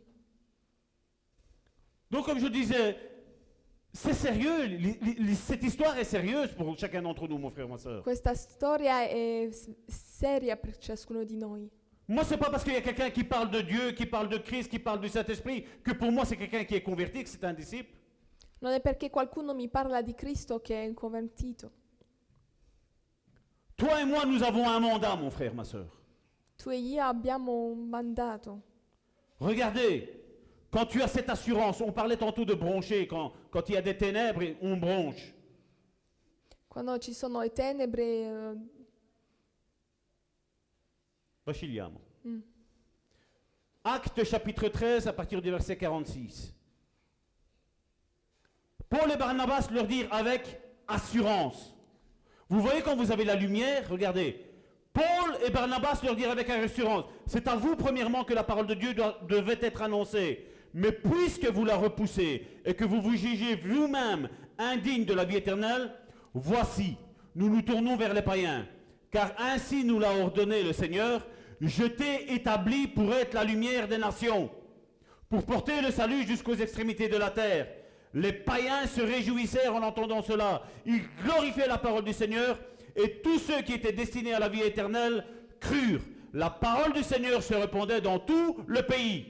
Donc comme je disais, c'est sérieux, li- li- li- cette histoire est sérieuse pour chacun d'entre nous, mon frère, ma soeur. Questa storia è s- seria per ciascuno di noi. Moi, c'est pas parce qu'il y a quelqu'un qui parle de Dieu, qui parle de Christ, qui parle du Saint-Esprit, que pour moi c'est quelqu'un qui est converti, que c'est un disciple. Non è perché qualcuno mi parla di Cristo che è convertito. Toi et moi, nous avons un mandat, mon frère, ma soeur. Tu e io abbiamo un mandato. Regardez, quand tu as cette assurance, on parlait tantôt de broncher, quand, quand il y a des ténèbres, on bronche. Quando ci sono le tenebre, eh, Vachiliamo. mm, Actes chapitre treize, à partir du verset quarante-six. Paul et Barnabas leur dirent avec assurance. Vous voyez quand vous avez la lumière, regardez. Paul et Barnabas leur dirent avec assurance. C'est à vous premièrement que la parole de Dieu doit- devait être annoncée. Mais puisque vous la repoussez et que vous vous jugez vous-même indigne de la vie éternelle, voici, nous nous tournons vers les païens. Car ainsi nous l'a ordonné le Seigneur, je t'ai établi pour être la lumière des nations, pour porter le salut jusqu'aux extrémités de la terre. Les païens se réjouissèrent en entendant cela. Ils glorifiaient la parole du Seigneur et tous ceux qui étaient destinés à la vie éternelle crurent. La parole du Seigneur se répandait dans tout le pays.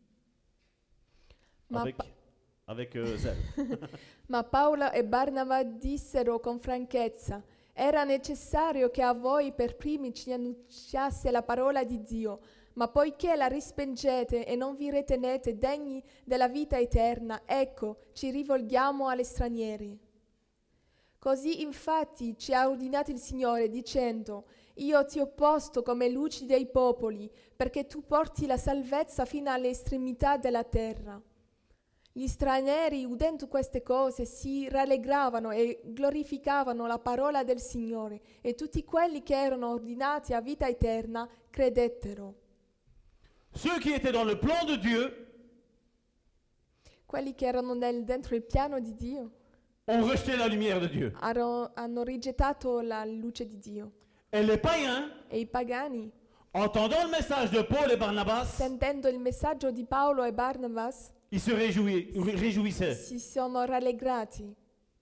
Ma Avec, pa- avec euh, zèle. Ma Paolo e Barnaba dissero con franchezza, era necessario che a voi per primi ci annunciasse la parola di Dio, ma poiché la respingete e non vi ritenete degni della vita eterna, ecco, ci rivolgiamo agli stranieri. Così infatti ci ha ordinato il Signore dicendo, io ti ho posto come luci dei popoli, perché tu porti la salvezza fino alle estremità della terra. Gli stranieri, udendo queste cose, si rallegravano e glorificavano la parola del Signore, e tutti quelli che erano ordinati a vita eterna credettero. Ceux qui étaient dans le plan de Dieu quelli che erano nel- dentro il piano di Dio ont rejeté la lumière de Dieu. hanno, hanno rigettato la luce di Dio. Et les païens, E i pagani, entendant le message de Paul et Barnabas, sentendo il messaggio di Paolo e Barnabas, ils se réjouis- ré- réjouissaient. si sono rallegrati.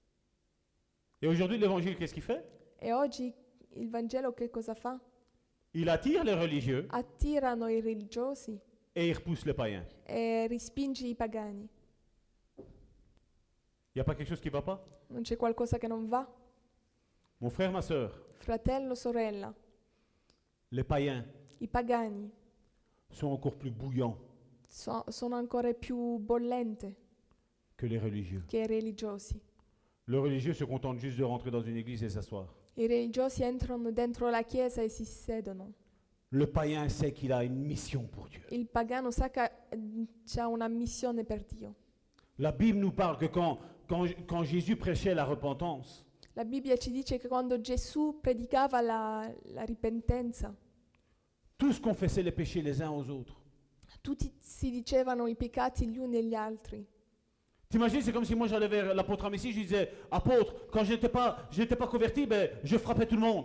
Et aujourd'hui, l'évangile, qu'est-ce qu'il fait? E oggi il Vangelo che cosa fa? Il attire les religieux Attirano i religiosi et il repousse les païens. e respinge i pagani. Il n'y a pas quelque chose qui ne va pas? Non c'è qualcosa che non va? Mon frère, ma soeur, Fratello, sorella, les païens i pagani sont encore plus bouillants so- sono ancora più bollenti que les religieux. che i religiosi. Le religieux se contente juste de rentrer dans une église et s'asseoir. I religiosi entrano dentro la chiesa e si sedono. Le païen sait qu'il a une mission pour Dieu. Il pagano sa che ha una missione per Dio. La Bible nous parle que quand, quand, quand Jésus prêchait la repentance, La Bibbia ci dice che quando Gesù predicava la, la ripentenza, tous confessaient les péchés les uns aux autres. tutti si dicevano i peccati gli uni agli altri. T'imagines, c'est comme si moi j'allais vers l'apôtre Amici, je lui disais, apôtre, quand je n'étais pas, je n'étais pas converti, ben, je frappais tout le monde.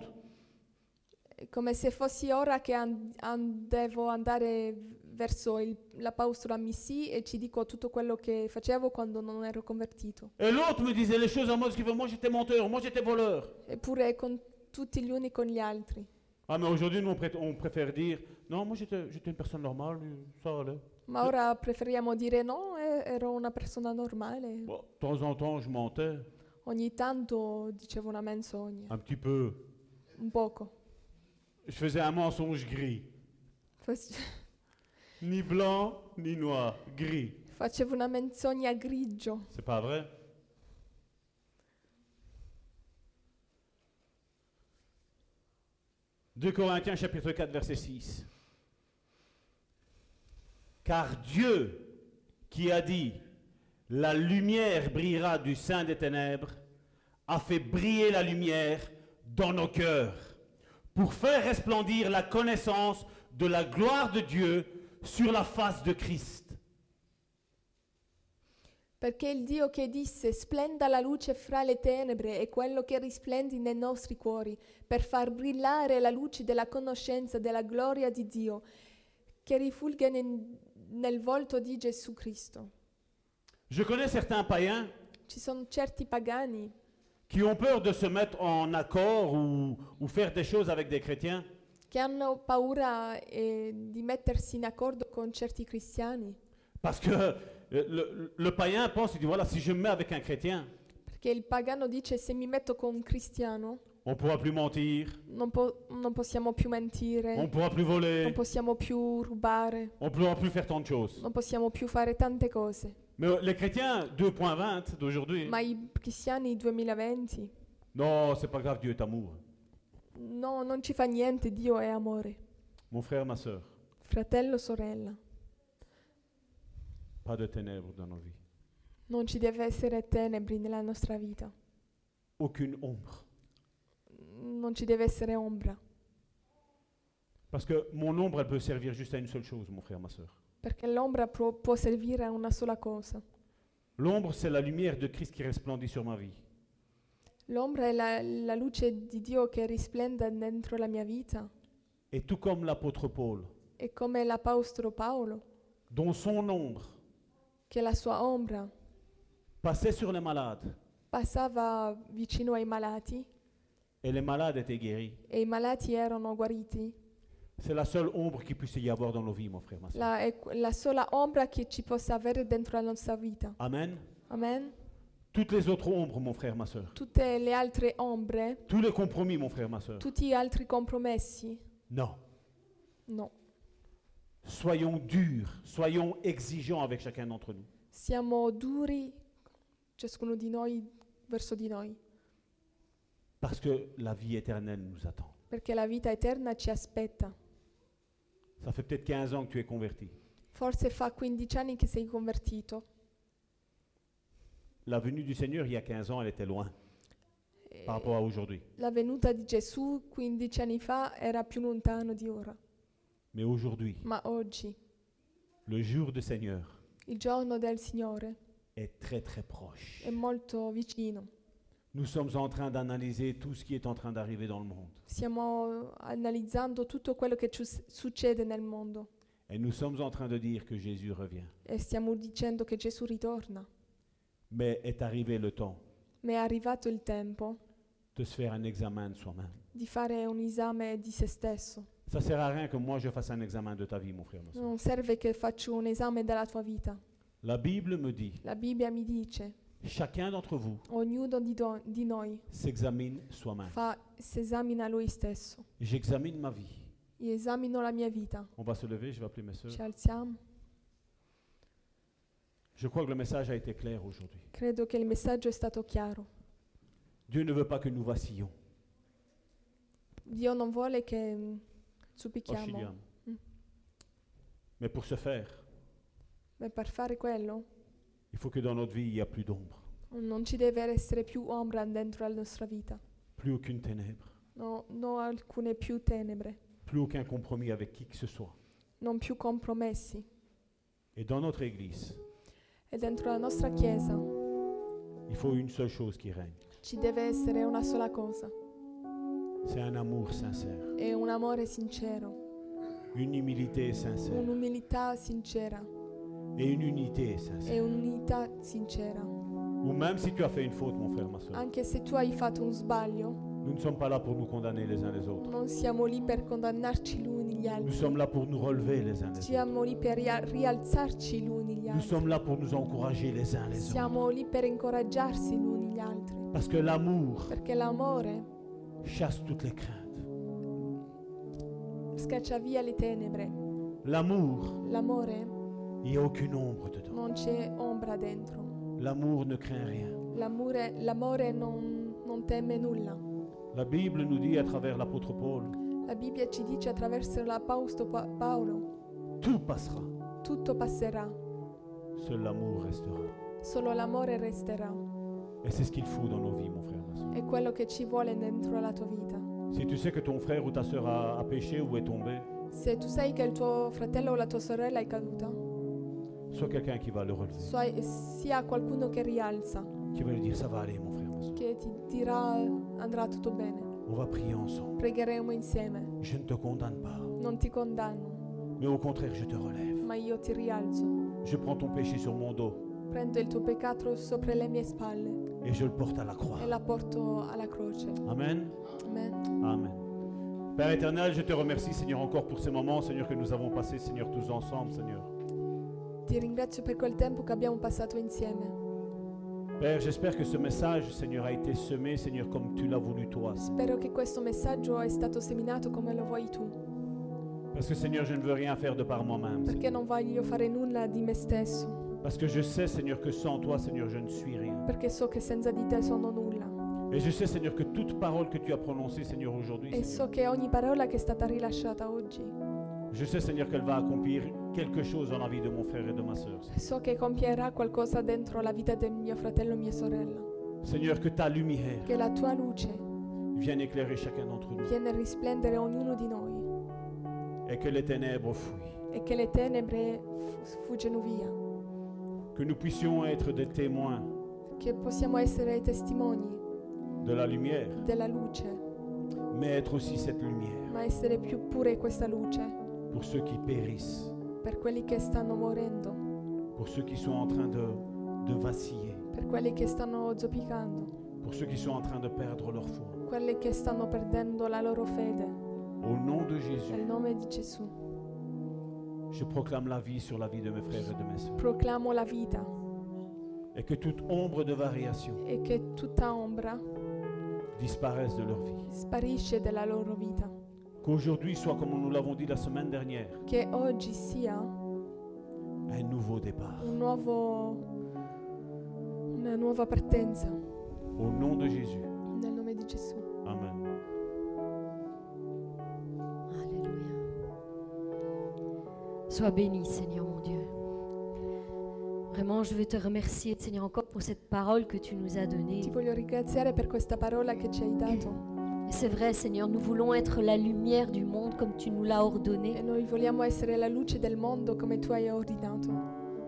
È come se fossi ora che an- an- devo andare verso il, l'apostolo Amissi e ci dico tutto quello che facevo quando non ero convertito. Et l'autre me disait les choses en mode, ce qu'il veut, moi j'étais menteur, moi j'étais voleur. Eppure con tutti gli uni con gli altri. Ah mais aujourd'hui nous on, pré- on préfère dire, non moi j'étais, j'étais une personne normale, ça allait. Ma ora preferiamo dire no, eh, ero una persona normale. Bon, de temps en temps je mentais, Ogni tanto dicevo una menzogna, un petit peu. un poco. Je faisais un mensonge gris. Fas- Ni blanc, ni noir, gris. Facevo una menzogna grigio. C'est pas vrai? deux Corinthiens chapitre quatre verset six. Car Dieu qui a dit la lumière brillera du sein des ténèbres a fait briller la lumière dans nos cœurs pour faire resplendir la connaissance de la gloire de Dieu sur la face de Christ. Perché il Dio che disse splenda la luce fra le tenebre è quello che risplendi nei nostri cuori per far brillare la luce della conoscenza della gloria di Dio che rifulge nel, nel volto di Gesù Cristo. Je connais certains païens Ci sono certi pagani qui ont peur de se mettre en accord ou, ou faire des choses avec des chrétiens che hanno paura eh, di mettersi in accordo con certi cristiani, parce que euh, le, le païen pense, il dit voilà, si je me mets avec un chrétien, perché il pagano dice se mi metto con un cristiano on ne pourra plus mentir, non, po- non possiamo più mentire, on ne pourra plus voler, non possiamo più rubare, on ne pourra plus faire tant de choses. non possiamo più fare tante cose. Mais les chrétiens deux point vingt d'aujourd'hui, Ma i cristiani duemilaventi, non, c'est pas grave, Dieu est amour. no, non ci fa niente, Dio è amore. Mon frère, ma soeur, Fratello, sorella, pas de ténèbres dans nos vies. non ci deve essere tenebri nella nostra vita, Aucune ombre. non ci deve essere ombra, Parce que mon ombre, elle peut servir juste à une seule chose, mon frère, ma soeur. perché l'ombra pro- può servire a una sola cosa. L'ombre, c'est la lumière de Christ qui resplendit sur ma vie. L'ombra è la, la luce di Dio che risplende dentro la mia vita. Et tout comme l'apôtre Paul, E come l'apostolo Paolo, dont son ombre che la sua ombra passait sur les malades, passava vicino ai malati et les malades étaient guéris. e i malati erano guariti, C'est la seule ombre qu'il puisse y avoir dans nos vies, mon frère, ma soeur. la, è que- la sola ombra che ci possa avere dentro la nostra vita. Amen. Amen. Toutes les autres ombres, mon frère, ma soeur. Tutte le altre ombre, Tous les compromis, mon frère, ma soeur. tutti gli altri compromessi, Non. no. Soyons durs, soyons exigeants avec chacun d'entre nous. Siamo duri, ciascuno di noi, verso di noi, Parce que la vie éternelle nous attend. perché la vita eterna ci aspetta. Ça fait peut-être quinze ans que tu es converti. Forse fa quindici anni che sei convertito. La venue du Seigneur, il y a quinze ans, elle était loin E par rapport à aujourd'hui. la venuta di Gesù quindici anni fa era più lontano di ora, Mais aujourd'hui, ma oggi, le jour du Seigneur, il giorno del Signore, est très très proche. è molto vicino. Nous sommes en train d'analyser tout ce qui est en train d'arriver dans le monde. Stiamo analizzando tutto quello che ci s- succede nel mondo Et nous sommes en train de dire que Jésus revient. e stiamo dicendo che Gesù ritorna. Mais est arrivé le temps Ma è arrivato il tempo de se faire un examen de soi-même. di fare un esame di se stesso. Ça sert à rien que moi je fasse un examen de ta vie, mon frère, ma soeur. Non serve che faccio un esame della tua vita. La Bible me dit, La Bibbia mi dice, chacun d'entre vous ognuno di, do- di noi s'examine soi-même. fa, si esamina lui stesso. J'examine ma vie. Io esamino la mia vita. On va se lever, je vais appeler mes soeurs. Ci alziamo. Je crois que le message a été clair aujourd'hui. Credo che il messaggio è stato chiaro. Dieu ne veut pas que nous vacillions. Dio non vuole che mm, zuppichiamo. Oscilliamo. Mm. Mais pour ce faire, Ma per fare quello il faut que dans notre vie, il n'y a plus d'ombre, non ci deve essere più ombra dentro la nostra vita. plus aucune ténèbre, No, non alcune più tenebre, plus aucun compromis avec qui que ce soit. non più compromessi. Et dans notre Église, E dentro la nostra Chiesa il faut une seule chose qui règne. ci deve essere una sola cosa. C'est un amour sincère, È un amore sincero, une humilité sincère un'umiltà sincera et une unité e sincère. un'unità sincera. Ou même si tu as fait une faute, mon frère, ma soeur, Anche se tu hai fatto un sbaglio, nous ne sommes pas là pour nous condamner les uns les autres. non siamo lì per condannarci gli uni gli Nous altri. sommes là pour nous relever les uns les autres. Siamo lì per ria- rialzarci gli uni gli Nous altri. sommes là pour nous encourager les uns les autres. Siamo lì per incoraggiarsi gli uni gli altri. Parce que l'amour Perché l'amore chasse toutes les craintes. scaccia via le tenebre. L'amour, L'amore il n'y a aucune ombre dedans. non c'è ombra dentro. L'amour ne craint rien. L'amore, l'amore non, non teme nulla. La Bible nous dit à travers l'apôtre Paul, La Bibbia ci dice attraverso l'Apostolo Pa- Paolo, tout passera, tutto passerà, seul l'amour restera. solo l'amore resterà. Et c'est ce qu'il faut dans nos vies, mon frère, ma soeur. È quello che ci vuole dentro la tua vita. Si tu sais que ton frère ou ta soeur a, a péché ou est tombé, Se tu sai che il tuo fratello o la tua sorella è caduta, sois quelqu'un qui va le relever, so- sia qualcuno che rialza, qui va lui dire ça va aller, mon frère, ma soeur. che ti dirà andrà tutto bene. On va prier ensemble. Pregheremo insieme. Je ne te condamne pas, Non ti condanno, mais au contraire, je te relève. ma io ti rialzo. Je prends ton péché sur mon dos Prendo il tuo peccato sopra le mie spalle et je le porte à la croix. e la porto alla croce. Amen. Amen. Amen. Père éternel, je te remercie, Seigneur, encore pour ces moments, Seigneur, que nous avons passés, Seigneur, tous ensemble, Seigneur. Ti ringrazio per quel tempo che abbiamo passato insieme. Père, j'espère que ce message, Seigneur, a été semé, Seigneur, comme tu l'as voulu toi. Spero che questo messaggio è stato seminato come lo vuoi tu, Parce que, Seigneur, je ne veux rien faire de par moi-même. perché Seigneur. non voglio fare nulla di me stesso, Parce que je sais, Seigneur, que sans toi, Seigneur, je ne suis rien. perché so che senza di te sono nulla. Et je sais, Seigneur, que toute parole que tu as prononcée, Seigneur, aujourd'hui, E Seigneur, so che ogni parola che è stata rilasciata oggi, je sais, Seigneur, qu'elle va accomplir quelque chose dans la vie de mon frère et de ma sœur. so che compierà qualcosa dentro la vita del mio fratello e mia sorella. Seigneur, que ta lumière Che la tua luce vienne éclairer chacun d'entre nous viene a risplendere ognuno di noi et que les ténèbres fuient. e che le tenebre fu- fuggono via. Que nous puissions être des témoins Che possiamo essere testimoni de la lumière, della luce, mais être aussi cette lumière ma essere più pure questa luce pour ceux qui périssent, per quelli che stanno morendo, pour ceux qui sont en train de, de vaciller, per quelli che stanno zoppicando, pour ceux qui sont en train de perdre leur foi. quelli che stanno perdendo la loro fede. Au nom de Jésus, Nel nome di Gesù je proclame la vie sur la vie de mes frères et de mes sœurs. proclamo la vita Et que toute ombre de variation e che tutta ombra disparaisse de leur vie. sparisce dalla loro vita. Qu'aujourd'hui soit, comme nous l'avons dit la semaine dernière, Che oggi sia un nouveau départ. un nuovo, una nuova partenza. Au nom de Jésus. Nel nome di Gesù. Amen. Alléluia. Sois béni, Seigneur mon Dieu. Vraiment, je veux te remercier, Seigneur, encore pour cette parole que tu nous as donnée. Ti voglio ringraziare per questa parola che ci hai dato. Et c'est vrai, Seigneur, nous voulons être la lumière du monde comme tu nous l'as E ordonné. noi vogliamo essere la luce del mondo come tu hai ordinato.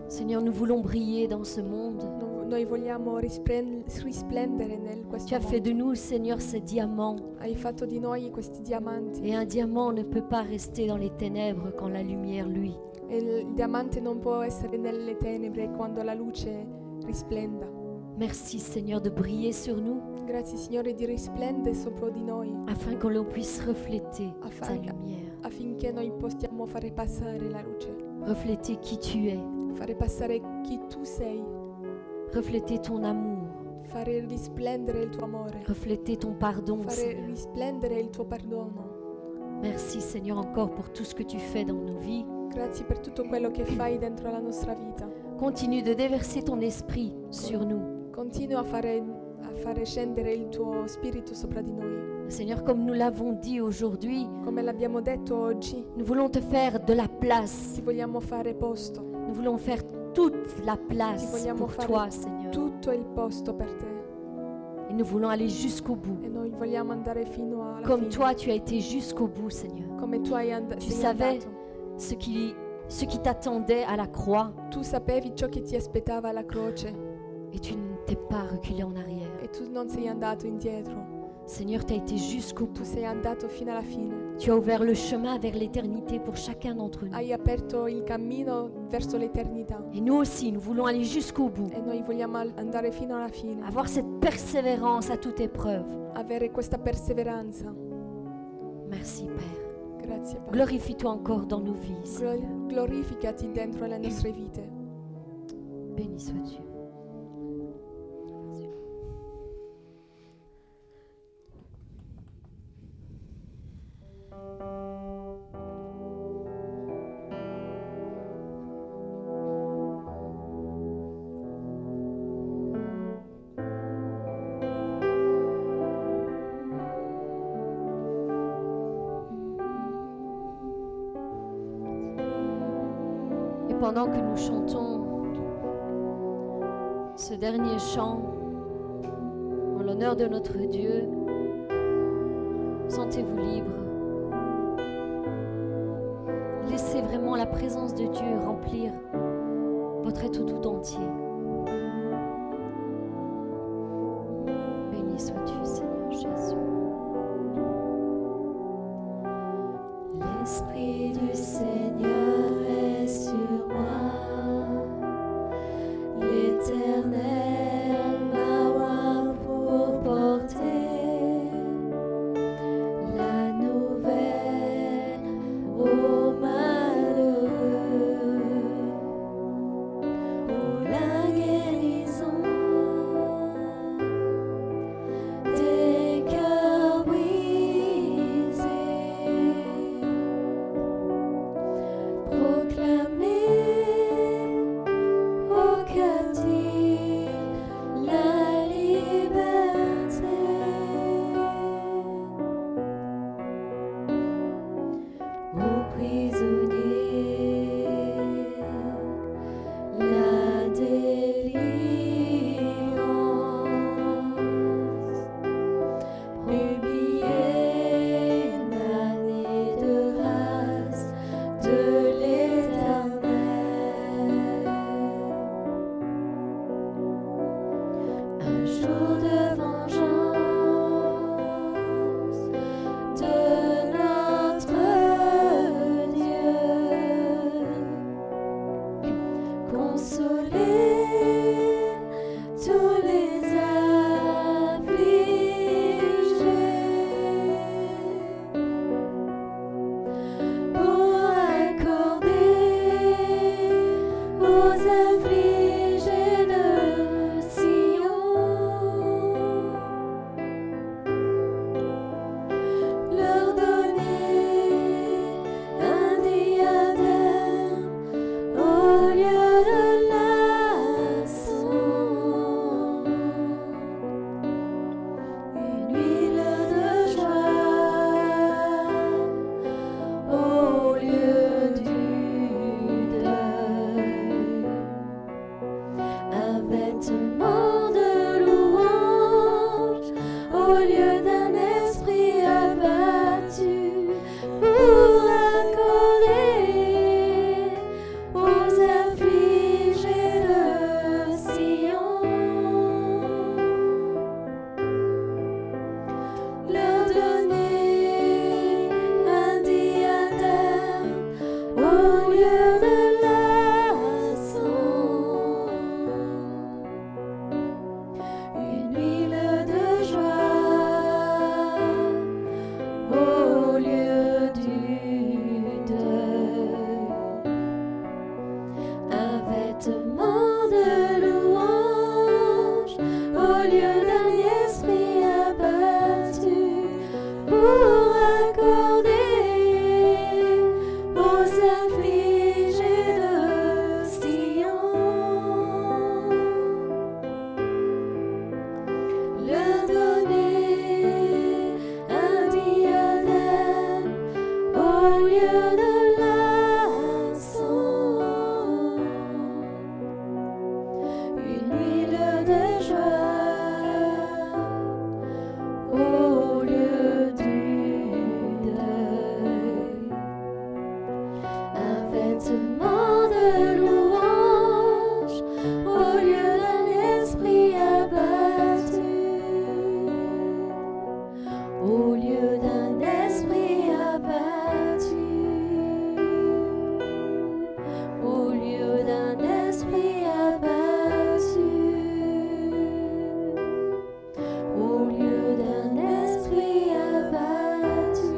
Seigneur, nous voulons briller dans ce monde. No- Noi vogliamo risplen- risplendere nel Tu questo as fait mondo. de nous, Seigneur, ces diamants. Hai fatto di noi questi diamanti. Et un diamant ne peut pas rester dans les ténèbres quand la lumière, lui. E il diamante non può essere nelle tenebre quando la luce risplenda. Merci, Seigneur, de briller sur nous Grazie Signore di risplendere sopra di noi afin que l'on puisse refléter ta affinché, lumière, affinché noi possiamo fare passare la luce, refléter qui tu es, fare passare chi tu sei, refléter ton amour, fare risplendere il tuo amore, refléter ton pardon, fare Seigneur. risplendere il tuo perdono. Merci, Seigneur, encore pour tout ce que tu fais dans nos vies. Grazie per tutto quello che fai dentro la nostra vita. Continue de déverser ton esprit sur nous. Continua a fare, a fare scendere il tuo spirito sopra di noi. Seigneur, comme nous l'avons dit aujourd'hui, Come l'abbiamo detto oggi, nous voulons te faire de la place. ti vogliamo fare posto, Nous voulons faire toute la place Ti vogliamo pour fare toi, Seigneur. tutto il posto per te. Et nous voulons aller jusqu'au bout. E noi vogliamo andare fino alla Comme fine. toi, tu as été jusqu'au bout, Seigneur. Come tu hai and- Tu sei savais andato. ce qui, ce qui t'attendait à la croix Tu sapevi ciò che ti aspettava alla croce et tu ne t'es pas reculé en arrière. e tu non sei andato indietro. Seigneur, tu as été jusqu'au Tu bout. sei andato fino alla fine. Tu as ouvert le chemin vers l'éternité pour chacun d'entre nous. Hai aperto il cammino verso l'eternità Et nous aussi, nous voulons aller jusqu'au bout. e noi vogliamo al- andare fino alla fine. Avoir cette persévérance à toute épreuve. Avere questa perseveranza. Merci, Père. Grazie Padre. Glorifie-toi encore dans nos vies, Glo- Seigneur. glorificati dentro le nostre vite. Béni sois-tu. Et pendant que nous chantons ce dernier chant en l'honneur de notre Dieu, sentez-vous libre. Laissez vraiment la présence de Dieu remplir votre être tout entier. Béni sois-tu, Seigneur Jésus. L'Esprit du Seigneur est sur moi, l'Éternel m'a oint pour porter la nouvelle aux malheureux, pour la guérison des cœurs brisés. Proclamer lieu de l'encens, une huile de joie, au lieu du deuil, un vêtement de louange, au lieu d'un esprit abattu, au lieu d'un esprit abattu, au lieu d'un esprit abattu, au lieu d'un esprit abattu,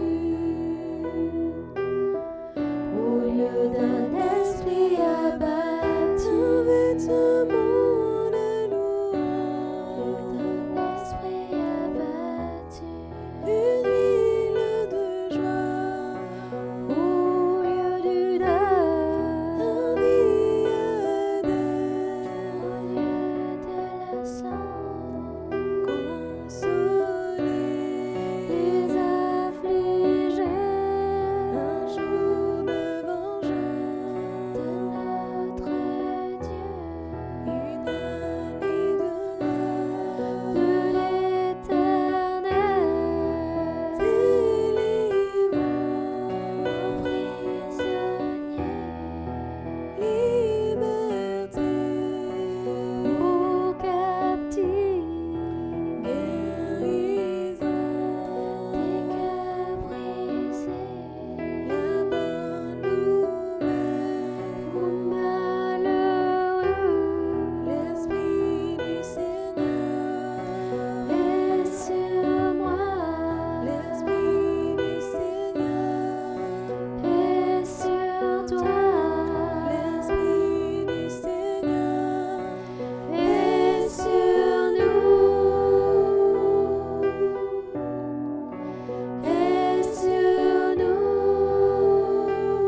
au lieu d'un esprit abattu, vêtement de louange, d'un esprit abattu, une huile de joie, au lieu du deuil, un diadème, au lieu de la sang, consoler les affligés, un jour de vengeance de notre Dieu, une amie de l'âme de l'Éternel, délivrant aux prisonniers, liberté aux captifs, guérison des cœurs brisés, la bonne nouvelle aux malheureux, l'Esprit du Seigneur est sur moi, l'Esprit du Seigneur est sur toi, l'Esprit du Seigneur est sur nous, est sur nous,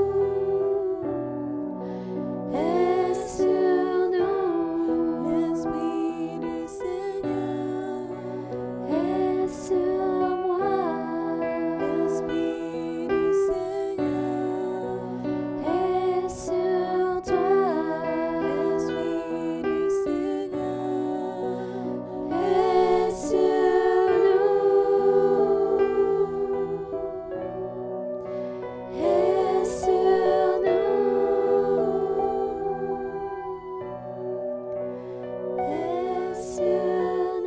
est sur nous, l'Esprit du Seigneur est sur moi, l'Esprit du Seigneur est sur toi, l'Esprit du Seigneur est sur nous, est sur nous, est sur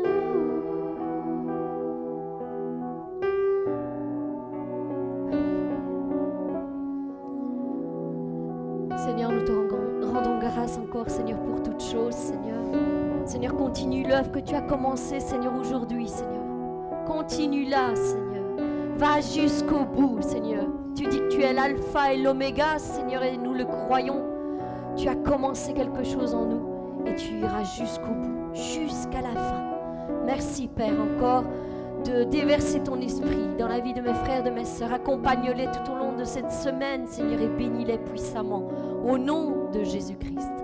nous. Seigneur, nous te rendons, rendons grâce encore, Seigneur, pour toutes choses, Seigneur. Seigneur, continue l'œuvre que tu as commencée, Seigneur, aujourd'hui, Seigneur. Continue-la, Seigneur. Va jusqu'au bout, Seigneur. Tu dis que tu es l'alpha et l'oméga, Seigneur, et nous le croyons. Tu as commencé quelque chose en nous et tu iras jusqu'au bout, jusqu'à la fin. Merci, Père, encore de déverser ton esprit dans la vie de mes frères, de mes sœurs. Accompagne-les tout au long de cette semaine, Seigneur, et bénis-les puissamment. Au nom de Jésus-Christ.